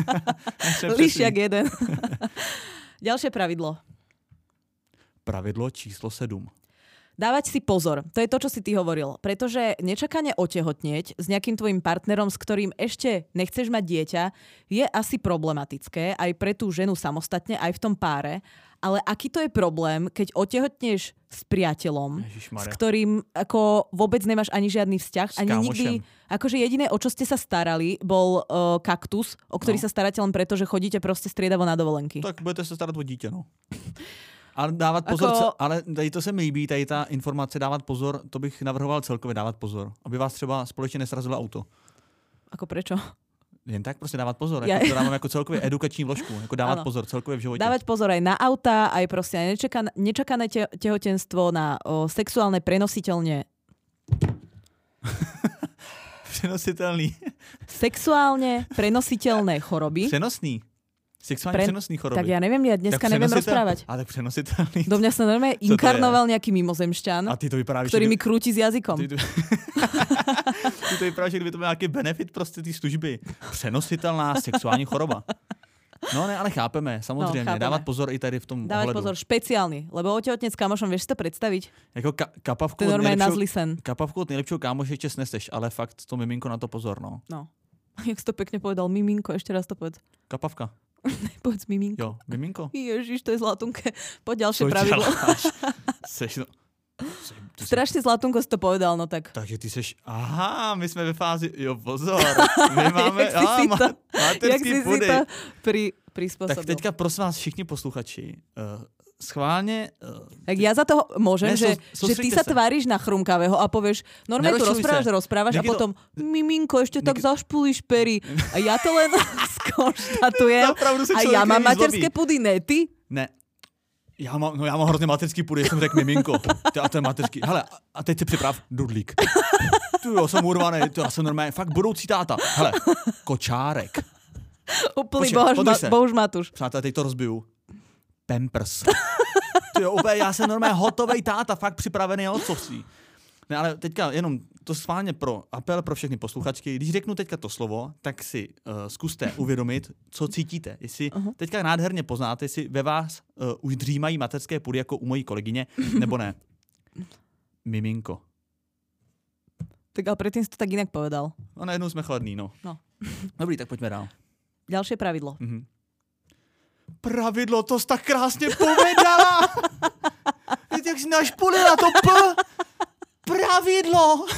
Lišiak jeden. Ďalšie pravidlo. Pravidlo číslo 7. Dávať si pozor. To je to, čo si ty hovoril. Pretože nečakane otehotnieť s nejakým tvojim partnerom, s ktorým ešte nechceš mať dieťa, je asi problematické aj pre tú ženu samostatne, aj v tom páre. Ale aký to je problém, keď otehotneš s priateľom, s ktorým ako vôbec nemáš ani žiadny vzťah, ani nikdy. Akože jediné, o čo ste sa starali, bol kaktus, o ktorý sa staráte len preto, že chodíte proste striedavo na dovolenky. Tak budete sa starať o dítě, no. Ale dávat pozor, ale tady to se mi líbí, tady ta informace dávat pozor, to bych navrhoval celkově dávat pozor, aby vás třeba společně nesrazilo auto. Ako prečo? Jen tak prostě dávat pozor, jako to dávám jako celkově edukační vložku, jako dávat pozor celkově v životě. Dávať pozor aj na auta, aj proste nečakané tehotenstvo, na sexuálne prenositeľne. Přenositelný. Sexuálne prenositeľné choroby. Přenosný. Sexuálne přenosný choroby. Tak ja neviem, ja dneska neviem rozprávať. Ale tak přenositelný. Do mňa sa normálne inkarnoval nejaký mimozemšťan, ktorý mi krúti s jazykom. Ty to vyprávíš, že kdyby to byl nějaký benefit prostě té služby. Přenositelná sexuální choroba. No ne, ale chápeme, samozřejmě. Chápeme. Dávat pozor i tady v tom Dávať ohledu. Pozor, špeciálny, lebo otehotnec s kamošom, vieš si to predstaviť? Jako kapavku od nejlepšího kámoše ešte sneseš, ale fakt to miminko na to pozor, no. No. Jak si to pekne povedal, miminko, ešte raz to povedz. Kapavka. Povedz miminko. Jo, miminko. Ježiš, to je zlatunke. Poď ďalšie pravidlo. Strašne zlatunko si to povedal, no tak. Takže ty seš, aha, my sme ve fázi, jo pozor, my máme, Jak materský pudy. si to prispôsobil. Tak teďka prosím vás všichni posluchači, schválne... Tak ja za toho môžem, že ty sa tváriš na chrumkavého a povieš, normálne tu rozprávaš a potom miminko, ešte tak zašpulíš pery. A ja to len skonštatujem. A ja mám materské pudy, ne ty? Ne. Já mám hrozně materský půdy, jsem řekl miminko. A to je materský. Hele, a teď si připrav dudlík. Tu jo, jsem urvaný, já jsem normálně, fakt budoucí táta. Hele, kočárek. Úplný bohuž Matuš. Přátelé, teď to rozbiju. Pampers. Ty jo, úplně, já jsem normálně hotovej táta, fakt připravený na otcovství. Ne, ale teďka jenom to schválně pro apel pro všechny posluchačky. Když řeknu teďka to slovo, tak si zkuste uvědomit, co cítíte. Jestli teďka nádherně poznáte, jestli ve vás už dřímají mateřské pudy jako u mojí kolegyně, nebo ne. Miminko. Tak ale predtým si to tak inak povedal. No najednou jsme chladný, no. Dobrý, tak pojďme dál. Ďalšie pravidlo. Pravidlo, to jsi tak krásně povedala! Víte, jak jsi našpulila to P? Pravidlo!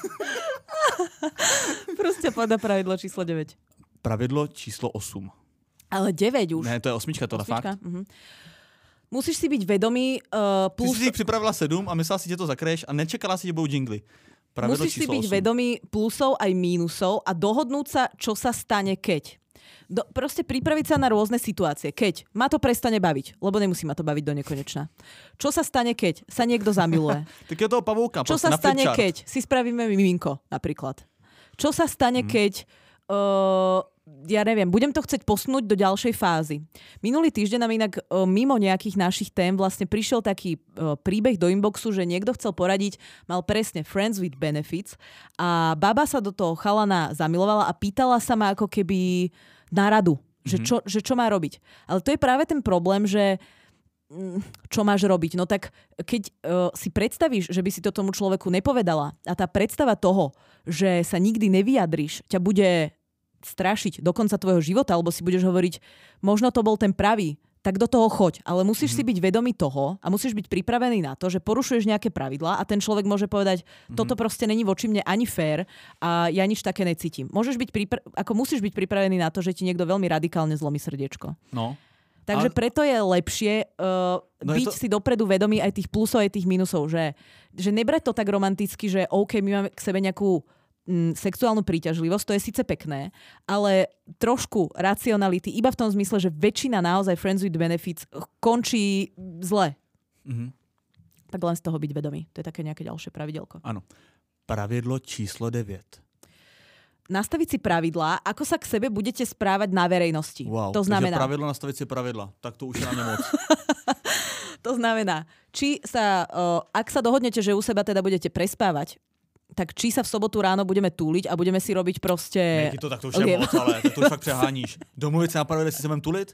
Prostě povedal pravidlo číslo 9. Pravidlo číslo 8. Ale 9 už. Ne, to je 8, tohle fakt. Musíš si byť vedomý... Plus... Ty jsi si připravila 7 a myslela si, že to zakreješ a nečekala si, že budou jingly. Pravidlo musíš si byť 8. vedomý plusov aj mínusov a dohodnúť sa, čo sa stane keď. Proste pripraviť sa na rôzne situácie. Keď ma to prestane baviť, lebo nemusí ma to baviť do nekonečna. Čo sa stane, keď sa niekto zamiluje? Tak je toho pavouka. Čo sa stane, keď si spravíme miminko, napríklad? Čo sa stane, keď... ja neviem, budem to chcieť posunúť do ďalšej fázy. Minulý týždeň nám inak mimo nejakých našich tém vlastne prišiel taký príbeh do inboxu, že niekto chcel poradiť, mal presne Friends with Benefits a baba sa do toho chalana zamilovala a pýtala sa ma ako keby na radu, že čo má robiť. Ale to je práve ten problém, že čo máš robiť? No tak keď si predstavíš, že by si to tomu človeku nepovedala a tá predstava toho, že sa nikdy nevyjadriš, ťa bude strašiť do konca tvojho života, alebo si budeš hovoriť, možno to bol ten pravý, tak do toho choď. Ale musíš si byť vedomý toho a musíš byť pripravený na to, že porušuješ nejaké pravidlá a ten človek môže povedať, toto proste není voči mne ani fér a ja nič také necítim. Musíš byť pripravený na to, že ti niekto veľmi radikálne zlomí srdiečko. No. Takže preto je lepšie byť si dopredu vedomý aj tých plusov, aj tých minusov, že nebrať to tak romanticky, že OK, my máme k sebe nejakú sexuálnu príťažlivosť, to je síce pekné, ale trošku racionality, iba v tom zmysle, že väčšina naozaj Friends with Benefits končí zle. Tak len z toho byť vedomý. To je také nejaké ďalšie pravidelko. Áno. Pravidlo číslo 9. Nastaviť si pravidlá, ako sa k sebe budete správať na verejnosti. Wow, to znamená... pravidlo nastaviť si pravidla. Tak to už je na mňa moc. To znamená, či sa, ak sa dohodnete, že u seba teda budete prespávať, tak či sa v sobotu ráno budeme túliť a budeme si robiť proste... Ne, to tak to už je moc, ale to už fakt přeháníš. Domluvit se na pravidle, jestli se budem tulit?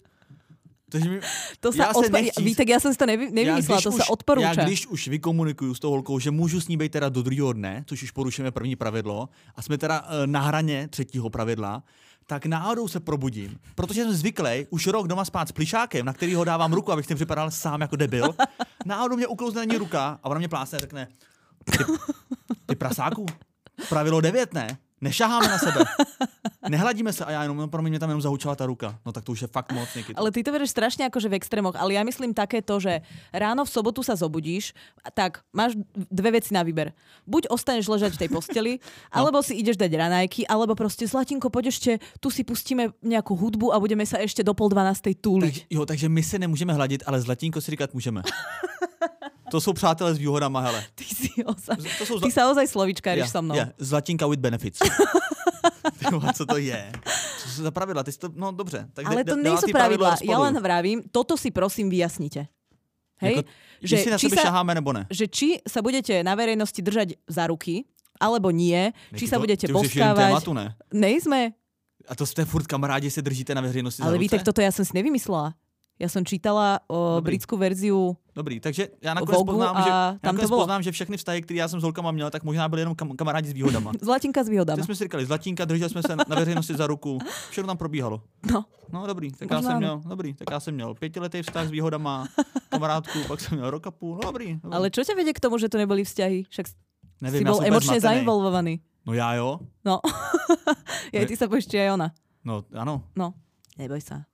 Vítek, já jsem si to nevymyslela, to se odporúča. Já když už vykomunikuju s tou holkou, že můžu s ní být teda do druhého dne, což už porušujeme první pravidlo, a jsme teda na hraně třetího pravidla, tak náhodou se probudím, protože jsem zvyklý už rok doma spát s plišákem, na který ho dávám ruku, abych s tím připadal sám jako debil. Náhodou mě uklouzne na ní ruka a ona mě plásne a řekne, ty prasáku, pravidlo 9, ne? Nešaháme na sebe. Nehladíme se a já jenom, no pro mě tam jenom zahučala ta ruka. No tak to už je fakt moc niekedy. Ale ty to bereš strašne akože v extrémoch, ale ja myslím také to, že ráno v sobotu sa zobudíš, tak máš dve veci na výber. Buď ostaneš ležať v tej posteli, alebo si ideš dať raňajky, alebo proste Zlatinko, poď ešte, tu si pustíme nejakú hudbu a budeme sa ešte do 11:30 túliť. Takže my se nemůžeme hladit, ale Zlatinko si říkat můžeme. To jsou přátelé s výhodama, hele. Ty sa ozaj slovíčkáriš so mnou. Zlatinka with benefits. Co to je? Co sú za pravidla? No dobře. Tak ale to nejsou pravidla. Ja len vravím, toto si prosím vyjasnite. Hej? Že si na sebe šaháme nebo ne? Že či sa budete na verejnosti držať za ruky, alebo nie. Či sa budete boskávať. Tématu, ne? Nejsme. A to ste furt kamarádi, se držíte na veřejnosti za ruce? Ale víte, toto ja som si nevymyslela. Ja som čítala britskú verziu. Dobrý, takže já nakonec poznám, že všechny vztahy, které já jsem s holkama měl, tak možná byly jenom kamarádi s výhodama. Zlatinka s výhodama. Teď jsme si říkali, Zlatinka, drželi jsme se na veřejnosti za ruku, všechno tam probíhalo. No dobrý, tak já jsem měl 5letý vztah s výhodama, kamarádku, pak jsem měl rok a půl, no dobrý. Ale čo ťa vedie k tomu, že to neboli vzťahy? Však nevím, si bol emočne zainvolvovaný. No já jo. No, ty sa bojíš, či aj ona. No, ano. No, neboj sa.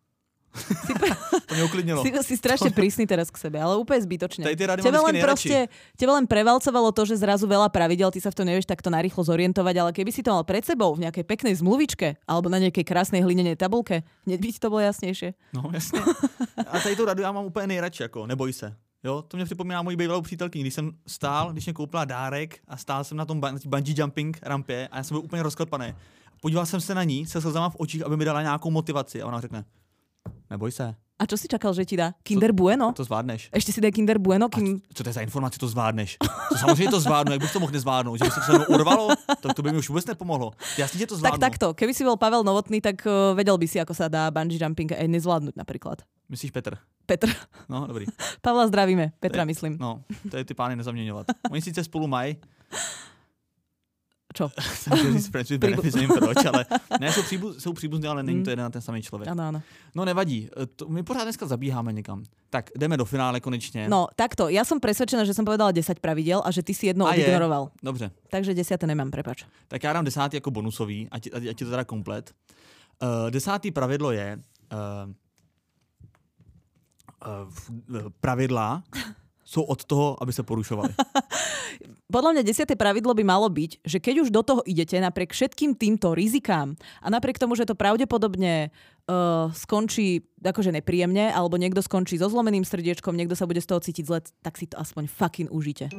To mě uklidnilo. Si strašne prísny teraz k sebe, ale úplne zbytočne. Teba len prevalcovalo to, že zrazu veľa pravidel, ty sa v tom nevieš takto narýchlo zorientovať, ale keby si to mal pred sebou v nejakej peknej zmluvičke alebo na nejakej krásnej hlinenej tabulke, hneď by ti to bolo jasnejšie. No jasně. A tady tu radu já mám úplně nejradši, jako neboj se. Jo, to mě připomíná moji bývalou přítelkyni, když jsem stál, když mě koupila dárek a stál jsem na tom bungee jumping rampě a já jsem byl úplně rozklepaný. Podíval jsem se na ní se slzama v očích, aby mi dala nějakou motivaci a ona řekne: neboj se. A čo si čakal, že ti dá? Kinder Bueno? To zvládneš. Ešte si daj Kinder Bueno? Co to je za informaci, to zvládneš? To samozřejmě to zvládnu, jak bych to mohl nezvládnout? Že by se to urvalo? Tak to by mi už vůbec nepomohlo. Jasně, že to zvládnu. Tak takto, keby si bol Pavel Novotný, tak vedel by si, ako sa dá bungee jumping aj nezvládnuť napríklad. Myslíš Petr? Petr. No, dobrý. Pavla zdravíme, Petra myslím. No, to je ty pány nezaměňovat. Oni sice spolu mají. Čo? Proč, ale ne, jsou příbuzní, ale není to jeden a ten samý člověk. Ano. No nevadí, my pořád dneska zabíháme někam. Tak, jdeme do finále konečně. No, takto, ja som presvedčená, že som povedala 10 pravidel a že ty si jedno odignoroval. Dobře. Takže 10 nemám, prepáč. Tak já dám 10 jako bonusový, ať je to teda komplet. 10. pravidlo je pravidla sú od toho, aby sa porušovali. Podľa mňa 10. pravidlo by malo byť, že keď už do toho idete napriek všetkým týmto rizikám a napriek tomu, že to pravdepodobne skončí akože nepríjemne, alebo niekto skončí so zlomeným srdiečkom, niekto sa bude z toho cítiť zle, tak si to aspoň fucking užite.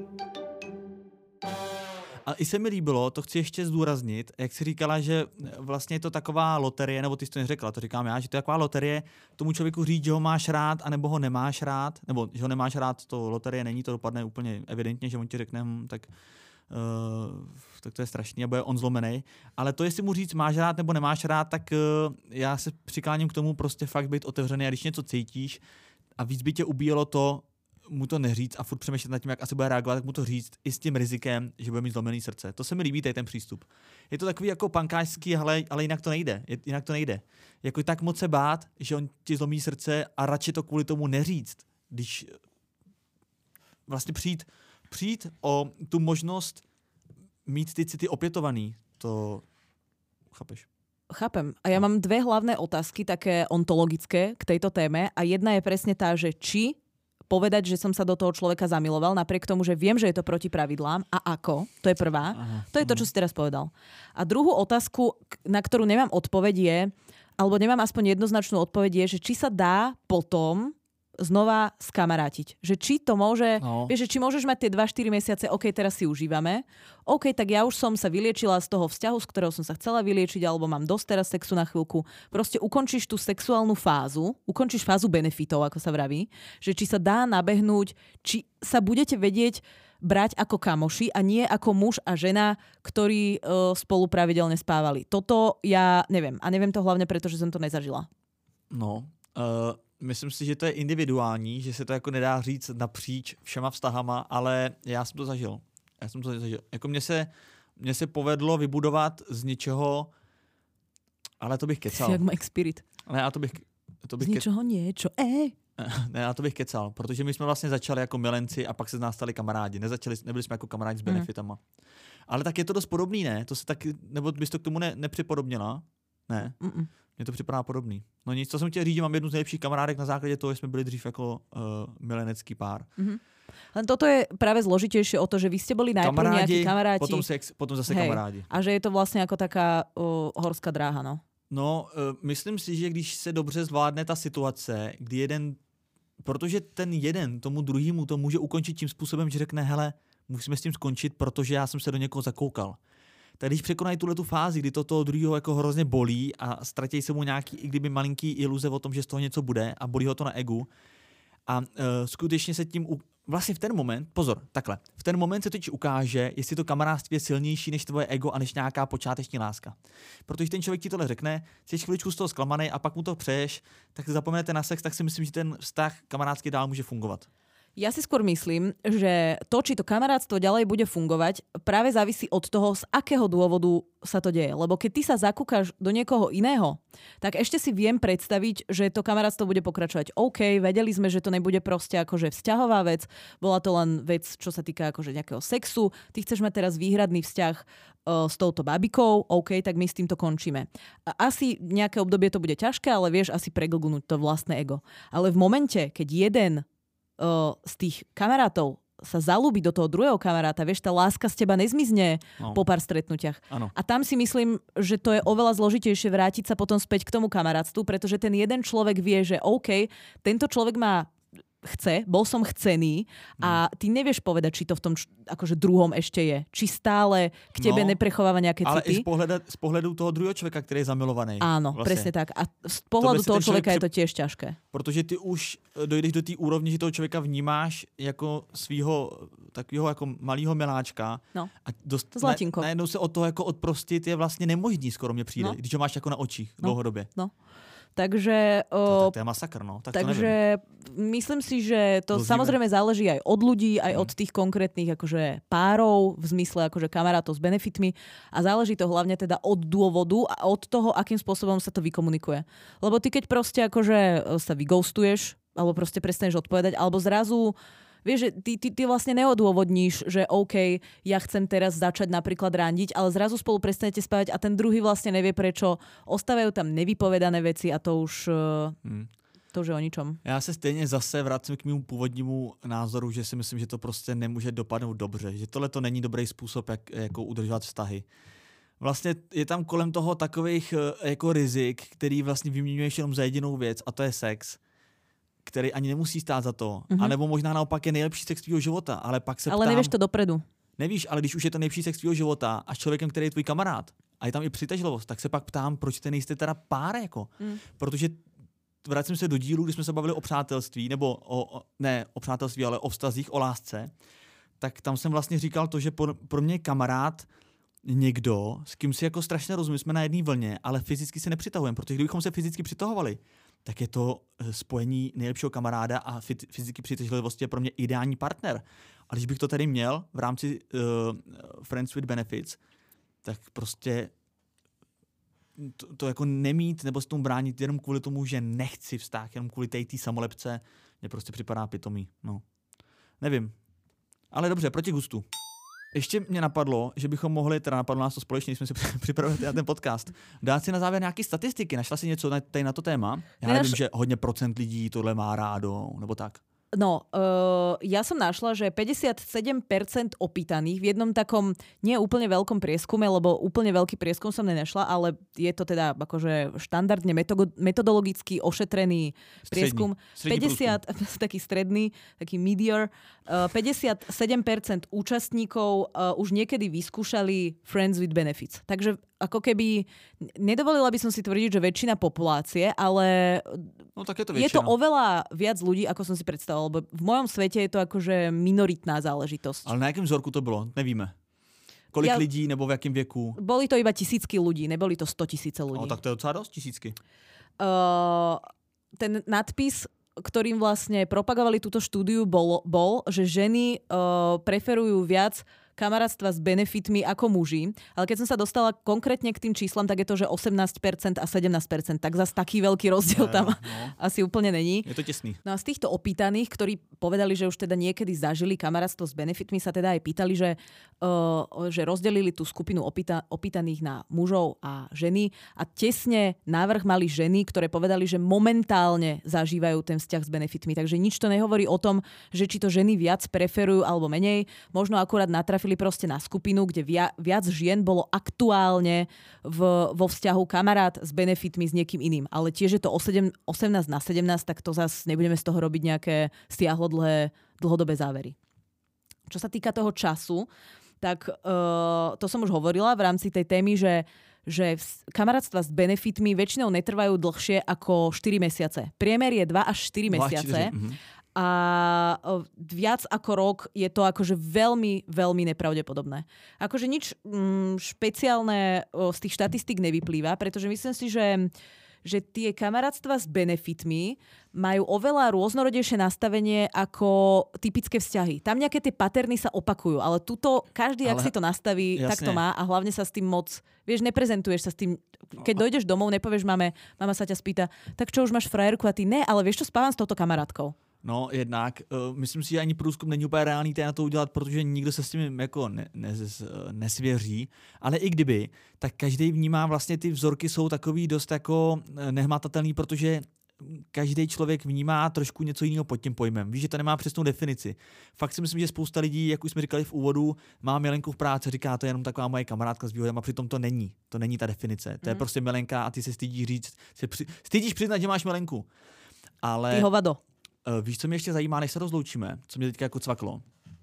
A i se mi líbilo, to chci ještě zdůraznit, jak jsi říkala, že vlastně je to taková loterie, nebo ty jsi to neřekla, to říkám já, že to je taková loterie tomu člověku říct, že ho máš rád, anebo ho nemáš rád, nebo že ho nemáš rád, to loterie není, to dopadne úplně evidentně, že on ti řekne, tak to je strašný a bude on zlomený. Ale to, jestli mu říct máš rád nebo nemáš rád, tak já se přikláním k tomu prostě fakt být otevřený a když něco cítíš a víc by tě ubíjelo to, mu to neříct a furt přemýšlet nad tím, jak asi bude reagovat, tak mu to říct i s tím rizikem, že bude mít zlomený srdce. To se mi líbí, tady ten přístup. Je to takový jako pankářský, ale jinak to nejde. Jinak to nejde. Jako tak moc se bát, že on ti zlomí srdce a radši to kvůli tomu neříct. Když vlastně přijít o tu možnost mít ty city opětovaný, to chápeš? Chápem. A ja mám dve hlavné otázky, také ontologické k tejto téme a jedna je presne tá, že či povedať, že som sa do toho človeka zamiloval, napriek tomu, že viem, že je to proti pravidlám. A ako? To je prvá. To je to, čo si teraz povedal. A druhú otázku, na ktorú nemám odpoveď je, alebo nemám aspoň jednoznačnú odpoveď je, že či sa dá potom znova skamarátiť. Že či to môže, vieš, že či môžeš mať tie 2-4 mesiace, OK, teraz si užívame, OK, tak ja už som sa vyliečila z toho vzťahu, z ktorého som sa chcela vyliečiť, alebo mám dosť teraz sexu na chvíľku. Proste ukončíš tú sexuálnu fázu, ukončíš fázu benefitov, ako sa vraví, že či sa dá nabehnúť, či sa budete vedieť brať ako kamoši a nie ako muž a žena, ktorí spolu pravidelne spávali. Toto ja neviem. A neviem to hlavne preto, že som to nezažila. Myslím si, že to je individuální, že se to jako nedá říct napříč všema vztahama, ale já jsem to zažil. Jako mně se povedlo vybudovat z ničeho, ale to bych kecal. Si jak Mike Spirit. Ne, a to bych z ničeho niečo, Ne, já to bych kecal, protože my jsme vlastně začali jako milenci a pak se z nás stali kamarádi. Nebyli jsme jako kamarádi s benefitama. Ale tak je to dost podobný, ne? To se taky, nebo bys to k tomu nepřipodobnila? Ne. Mně to připadá podobný. No nic, co jsem chtěl říct, že mám jednu z nejlepších kamarádek na základě toho, že jsme byli dřív jako milenecký pár. Len toto je práve zložitejšie o to, že vy ste boli najprv nejakí kamaráti. Potom zase kamarádi. A že je to vlastne ako taká horská dráha, no? No, myslím si, že když se dobře zvládne ta situace, kdy protože ten jeden tomu druhému to může ukončit tím způsobem, že řekne, hele, musíme s tím skončit, protože já jsem se do někoho zakoukal. Tak když překonají tuhletu fázi, kdy to toho druhého jako hrozně bolí a ztratí se mu nějaký, i kdyby malinký iluze o tom, že z toho něco bude a bolí ho to na egu. A skutečně se tím, vlastně v ten moment, pozor, takhle, v ten moment se totiž ukáže, jestli to kamarádství je silnější než tvoje ego a než nějaká počáteční láska. Protože ten člověk ti tohle řekne, jsi chviličku z toho zklamaný a pak mu to přeješ, tak si zapomenete na sex, tak si myslím, že ten vztah kamarádský dál může fungovat. Ja si skôr myslím, že to, či to kamarátstvo ďalej bude fungovať, práve závisí od toho, z akého dôvodu sa to deje. Lebo keď ty sa zakúkaš do niekoho iného, tak ešte si viem predstaviť, že to kamarátstvo bude pokračovať. OK, vedeli sme, že to nebude proste akože vzťahová vec, bola to len vec, čo sa týka akože nejakého sexu. Ty chceš mať teraz výhradný vzťah s touto babikou, OK, tak my s týmto končíme. A asi nejaké obdobie to bude ťažké, ale vieš asi preglgnúť to vlastné ego. Ale v momente, keď jeden z tých kamarátov sa zalúbi do toho druhého kamaráta, vieš, tá láska z teba nezmizne po pár stretnutiach. Ano. A tam si myslím, že to je oveľa zložitejšie vrátiť sa potom späť k tomu kamarátstvu, pretože ten jeden človek vie, že OK, tento človek ma bol som chcený a ty nevieš povedať, či to v tom akože druhom ešte je. Či stále k tebe neprechováva nejaké city. Ale i z pohledu toho druhého člověka, který je zamilovaný. Áno, vlastne. Presne tak. A z pohľadu toho človeka je to tiež ťažké. Protože ty už dojdeš do té úrovni, že toho člověka vnímáš jako svýho takového jako malého miláčka. No, a zlatinko. Najednou se od toho jako odprostit je vlastně nemožný, skoro mě přijde, když ho máš jako na očích dlouhodobě. No. Takže to je masakr, no. Tak takže myslím si, že to samozrejme záleží aj od ľudí, aj od tých konkrétnych akože párov, v zmysle akože kamarátov s benefitmi a záleží to hlavne teda od dôvodu a od toho, akým spôsobom sa to vykomunikuje. Lebo ty keď proste akože sa vyghostuješ, alebo proste prestaneš odpovedať, alebo zrazu vieš, že ty vlastne neodôvodníš, že OK, ja chcem teraz začať napríklad randiť, ale zrazu spolu prestanete spávať a ten druhý vlastne nevie prečo. Ostávajú tam nevypovedané veci a to už to už je o ničom. Já se stejně zase vracím k mému původnímu názoru, že si myslím, že to prostě nemůže dopadnout dobře. Že tohle to není dobrý způsob, jak jako udržovat vztahy. Vlastně je tam kolem toho takových jako rizik, který vlastně vyměňuješ jenom za jedinou věc a to je sex, který ani nemusí stát za to. A nebo možná naopak je nejlepší sex tvýho života, ale pak se ptám... Ale nevíš to dopredu. Nevíš, ale když už je to nejlepší sex tvýho života a s člověkem, který je tvůj kamarád a je tam i přitažlivost, tak se pak ptám, proč ty nejste teda pár, jako. Protože vracím se do dílu, kdy jsme se bavili o přátelství, nebo ne o přátelství, ale o vztazích, o lásce, tak tam jsem vlastně říkal to, že pro mě je kamarád někdo, s kým si jako strašně rozumím, jsme na jedné vlně, ale fyzicky se nepřitahujeme, protože kdybychom se fyzicky přitahovali, tak je to spojení nejlepšího kamaráda a fyzicky přitažlivosti je pro mě ideální partner. A když bych to tady měl v rámci Friends with Benefits, tak prostě to jako nemít nebo s tomu bránit jenom kvůli tomu, že nechci vztah, jenom kvůli té samolepce, mě prostě připadá pitomý. No. Nevím. Ale dobře, proti gustu. Ještě mě napadlo, že bychom mohli, teda napadlo nás to společně, když jsme si připravili na ten podcast, dát si na závěr nějaké statistiky. Našla si něco tady na to téma? Já nevím, že hodně procent lidí tohle má rádo, nebo tak. No, ja som našla, že 57% opýtaných v jednom takom nie úplne veľkom prieskume, lebo úplne veľký prieskum som nenašla, ale je to teda akože štandardne metodologicky ošetrený prieskum. Stredný 50, taký stredný, taký medior. 57% účastníkov už niekedy vyskúšali Friends with Benefits. Takže ako keby, nedovolila by som si tvrdiť, že väčšina populácie, ale no, tak je to oveľa viac ľudí, ako som si predstavoval, lebo v mojom svete je to akože minoritná záležitosť. Ale na jakém vzorku to bylo? Nevíme. Kolik lidí nebo v jakém věku? Boli to iba tisícky ľudí, neboli to 100 000 ľudí. No, tak to je docela dosť, tisícky. Ten nadpis, ktorým vlastne propagovali túto štúdiu, bol, že ženy preferujú viac kamarátstva s benefitmi ako muži. Ale keď som sa dostala konkrétne k tým číslam, tak je to, že 18% a 17%. Tak zase taký veľký rozdiel tam asi úplne není. Je to tesný. No a z týchto opýtaných, ktorí povedali, že už teda niekedy zažili kamarátstvo s benefitmi, sa teda aj pýtali, že rozdelili tú skupinu opýtaných na mužov a ženy a tesne návrh mali ženy, ktoré povedali, že momentálne zažívajú ten vzťah s benefitmi. Takže nič to nehovorí o tom, že či to ženy viac preferujú alebo menej. Možno akurát natrafili proste na skupinu, kde viac žien bolo aktuálne vo vzťahu kamarát s benefitmi s niekým iným. Ale tiež je to 18 na 17, tak to zase nebudeme z toho robiť nejaké dlhodobé závery. Čo sa týka toho času, tak to som už hovorila v rámci tej témy, že kamarátstva s benefitmi väčšinou netrvajú dlhšie ako 4 mesiace. Priemer je 2 až 4 mesiace. A viac ako rok je to akože veľmi, veľmi nepravdepodobné. Akože nič špeciálne z tých štatistík nevyplýva, pretože myslím si, že že tie kamarátstva s benefitmi majú oveľa rôznorodejšie nastavenie ako typické vzťahy. Tam nejaké tie paterny sa opakujú, ale tuto každý, ak si to nastaví, tak to má a hlavne sa s tým moc, vieš, neprezentuješ sa s tým. Keď dojdeš domov, nepovieš mame, mama sa ťa spýta, tak čo, už máš frajerku a ty ne, ale vieš čo, spávam s touto kamarátkou. No, jednak. Myslím si, že ani průzkum není úplně reálný na to udělat, protože nikdo se s tím jako nesvěří. Ale i kdyby, tak každý vnímá vlastně ty vzorky jsou takový dost jako nehmatatelný, protože každý člověk vnímá trošku něco jiného pod tím pojmem. Víš, že to nemá přesnou definici. Fakt si myslím, že spousta lidí, jak už jsme říkali v úvodu, má milenku v práci, říká, to je jenom taková moje kamarádka s výhodem, a přitom to není. To není ta definice. To je prostě milenka a ty se stydíš říct, stydíš přiznat, že máš milenku. Ale ty hovado. Víš, co mě ještě zajímá, než se rozloučíme? Co mě teďka jako cvaklo?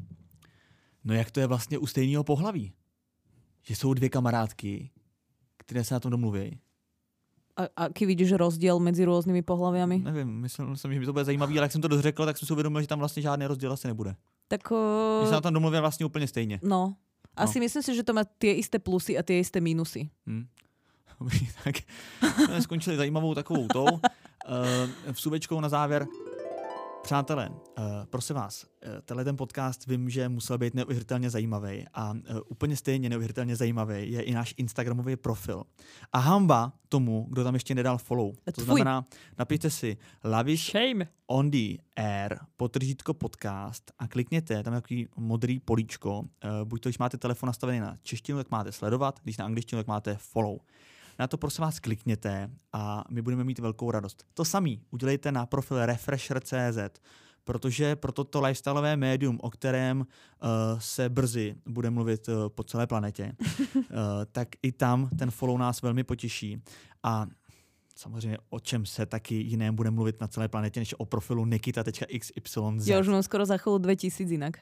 No jak to je vlastně u stejného pohlaví? Že jsou dvě kamarádky, které se na tom domluví. A aký vidíš rozdíl mezi různými pohlaviami? Nevím, myslím, že by to bude zajímavý, ale jak jsem to dořekl, tak jsem si uvědomil, že tam vlastně žádný rozdíl asi nebude. Tak že se na tom domluví vlastně úplně stejně. No, asi myslím si, že to má tie isté plusy a tie isté mínusy. Dobrý, tak jsme skončili zajímavou takovou tou. Vsuvečkou na závěr. Přátelé, prosím vás, tenhle ten podcast vím, že musel být neuvěřitelně zajímavý a úplně stejně neuvěřitelně zajímavý je i náš Instagramový profil. A hamba tomu, kdo tam ještě nedal follow. To znamená, napište si Lavish on the air _podcast a klikněte, tam je takový modrý políčko. Buď to, když máte telefon nastavený na češtinu, tak máte sledovat, když na angličtinu, tak máte follow. Na to prosím vás klikněte a my budeme mít velkou radost. To samý udělejte na profil refresher.cz, protože pro toto lifestyleové médium, o kterém se brzy bude mluvit po celé planetě, tak i tam ten follow nás velmi potěší. A samozřejmě o čem se taky jiném bude mluvit na celé planetě, než o profilu nikita.xyz. Já už mám skoro za chvíli 2000 jinak.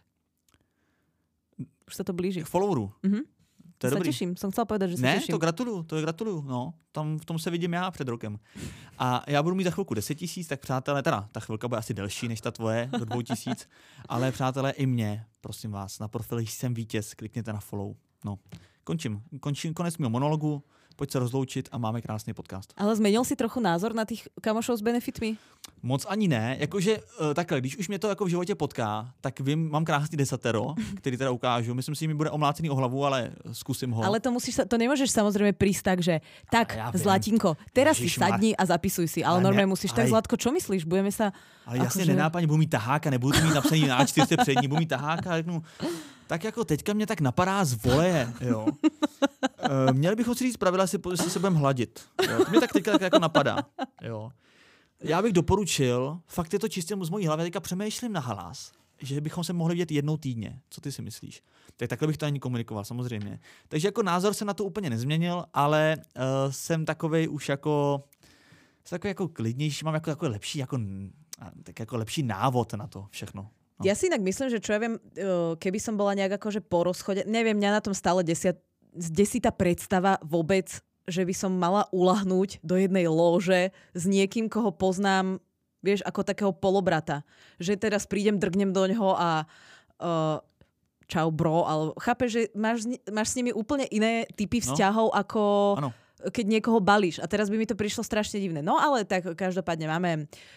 Už se to blíží. K followeru. To je se dobrý. Těším, jsem chcela povedať, že se těším. Ne, to gratuluju, no. Tam v tom se vidím já před rokem. A já budu mít za chvilku 10 000, tak přátelé, teda ta chvilka bude asi delší než ta tvoje, do 2000, ale přátelé i mě, prosím vás, na profilu Jsem vítěz, klikněte na follow. No, končím konec mého monologu, pojď se rozloučit a máme krásný podcast. Ale zmenil si trochu názor na těch kamošov s benefitmi? Moc ani ne, jakože takhle, když už mě to jako v životě potká, tak vím, mám krásný desatero, který teda ukážu. Myslím si, že mi bude omlácený o hlavu, ale zkusím ho. Ale to nemůžeš samozřejmě prísť tak, že tak, Zlatinko, teraz si sadni a zapisuj si. Ale normálně musíš tak, Zlatko, čo myslíš? Budeme sa... Ale jasně nenápadně, budu mít taháka, nebudu mít napsaný na A4 přední, budu mít taháka, řeknu, tak jako teďka mě tak napadá z voleje, jo. Měli bychom si říct pravidla, jestli se budeme hladit. Jo. To mě tak teďka jako napadá, jo. Já bych doporučil, fakt je to čistě z mojí hlavy, teďka přemýšlím na hlas, že bychom se mohli vidět jednou týdně. Co ty si myslíš? Tak takhle bych to ani komunikoval, samozřejmě. Takže jako názor se na to úplně nezměnil, ale jsem takovej už jako klidnější, mám jako lepší, tak jako lepší návod na to všechno. No. Ja si inak myslím, že čo ja viem, keby som bola nejak akože po rozchode, neviem, mňa na tom stále desí tá predstava vôbec, že by som mala ulahnúť do jednej lóže s niekým, koho poznám, vieš, ako takého polobrata. Že teraz prídem, drgnem do ňoho a čau bro, ale chápeš, že máš s nimi úplne iné typy vzťahov, ako... Ano. Keď niekoho balíš. A teraz by mi to prišlo strašne divné. No ale tak každopádne máme,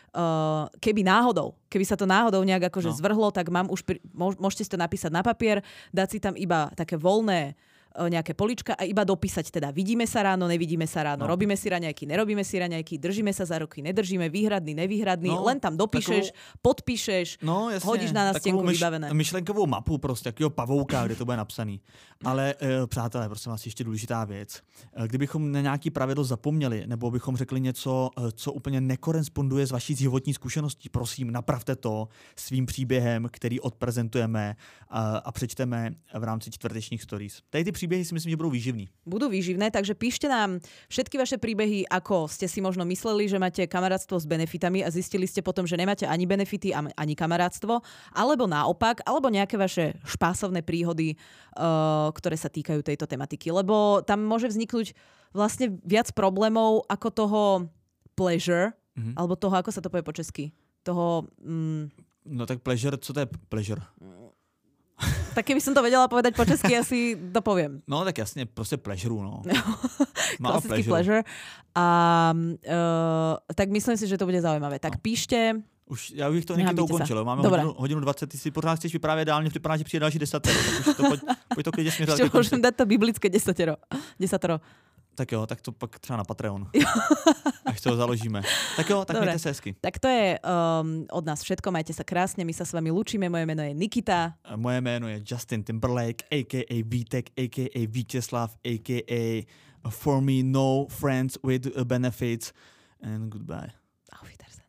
keby sa to náhodou nejak akože zvrhlo, tak mám už, môžete si to napísať na papier, dať si tam iba také voľné nejaké polička a iba dopísať teda vidíme sa ráno, nevidíme sa ráno, robíme si raňajky, nerobíme si raňajky, držíme sa za ruky, nedržíme, výhradný, nevýhradný, len tam dopíšeš, podpíšeš, hodíš na nástenku vybavené. Myšlenkovou mapu prostě, takového pavouka, kde to bude napsaný. Ale přátelé, prosím vás, ještě důležitá věc. Kdybychom na nějaký pravidlo zapomněli, nebo bychom řekli něco, co úplně nekoresponduje s vaší životní zkušeností, prosím, napravte to svým příběhem, který odprezentujeme a přečteme v rámci čtvrtečních stories. Tady ty príbehy si myslím, že budú výživní. Budú výživné, takže píšte nám všetky vaše príbehy, ako ste si možno mysleli, že máte kamarátstvo s benefitami a zistili ste potom, že nemáte ani benefity, ani kamarátstvo, alebo naopak, alebo nejaké vaše špásovné príhody, ktoré sa týkajú tejto tematiky. Lebo tam môže vzniknúť vlastne viac problémov ako toho pleasure, alebo toho, ako sa to povie po česky. Toho... No tak pleasure, co to je pleasure? Tak keby som to vedela povedať po česky, asi to poviem. No tak jasně, prostě pleasure, no. Klasický pleasure. A tak myslím si, že to bude zaujímavé. Tak píšte. Já bych to někdy to ukončil. Máme hodinu 20, ty si pořád chceš vyprávět dál, mně připadá, že přijde další 10. Tak už to pojď to klidně směřovat. Ještě můžem dát to biblické 10. Tak jo, tak to pak třeba na Patreon. Až to založíme. Tak jo, tak dobre. Mějte se hezky. Tak to je od nás všetko, majte sa krásne, my sa s vami lúčime, moje meno je Nikita. A moje jméno je Justin Timberlake, a.k.a. Vítek, a.k.a. Vítězslav, a.k.a. For Me No Friends with Benefits and goodbye. Auf Wiedersehen.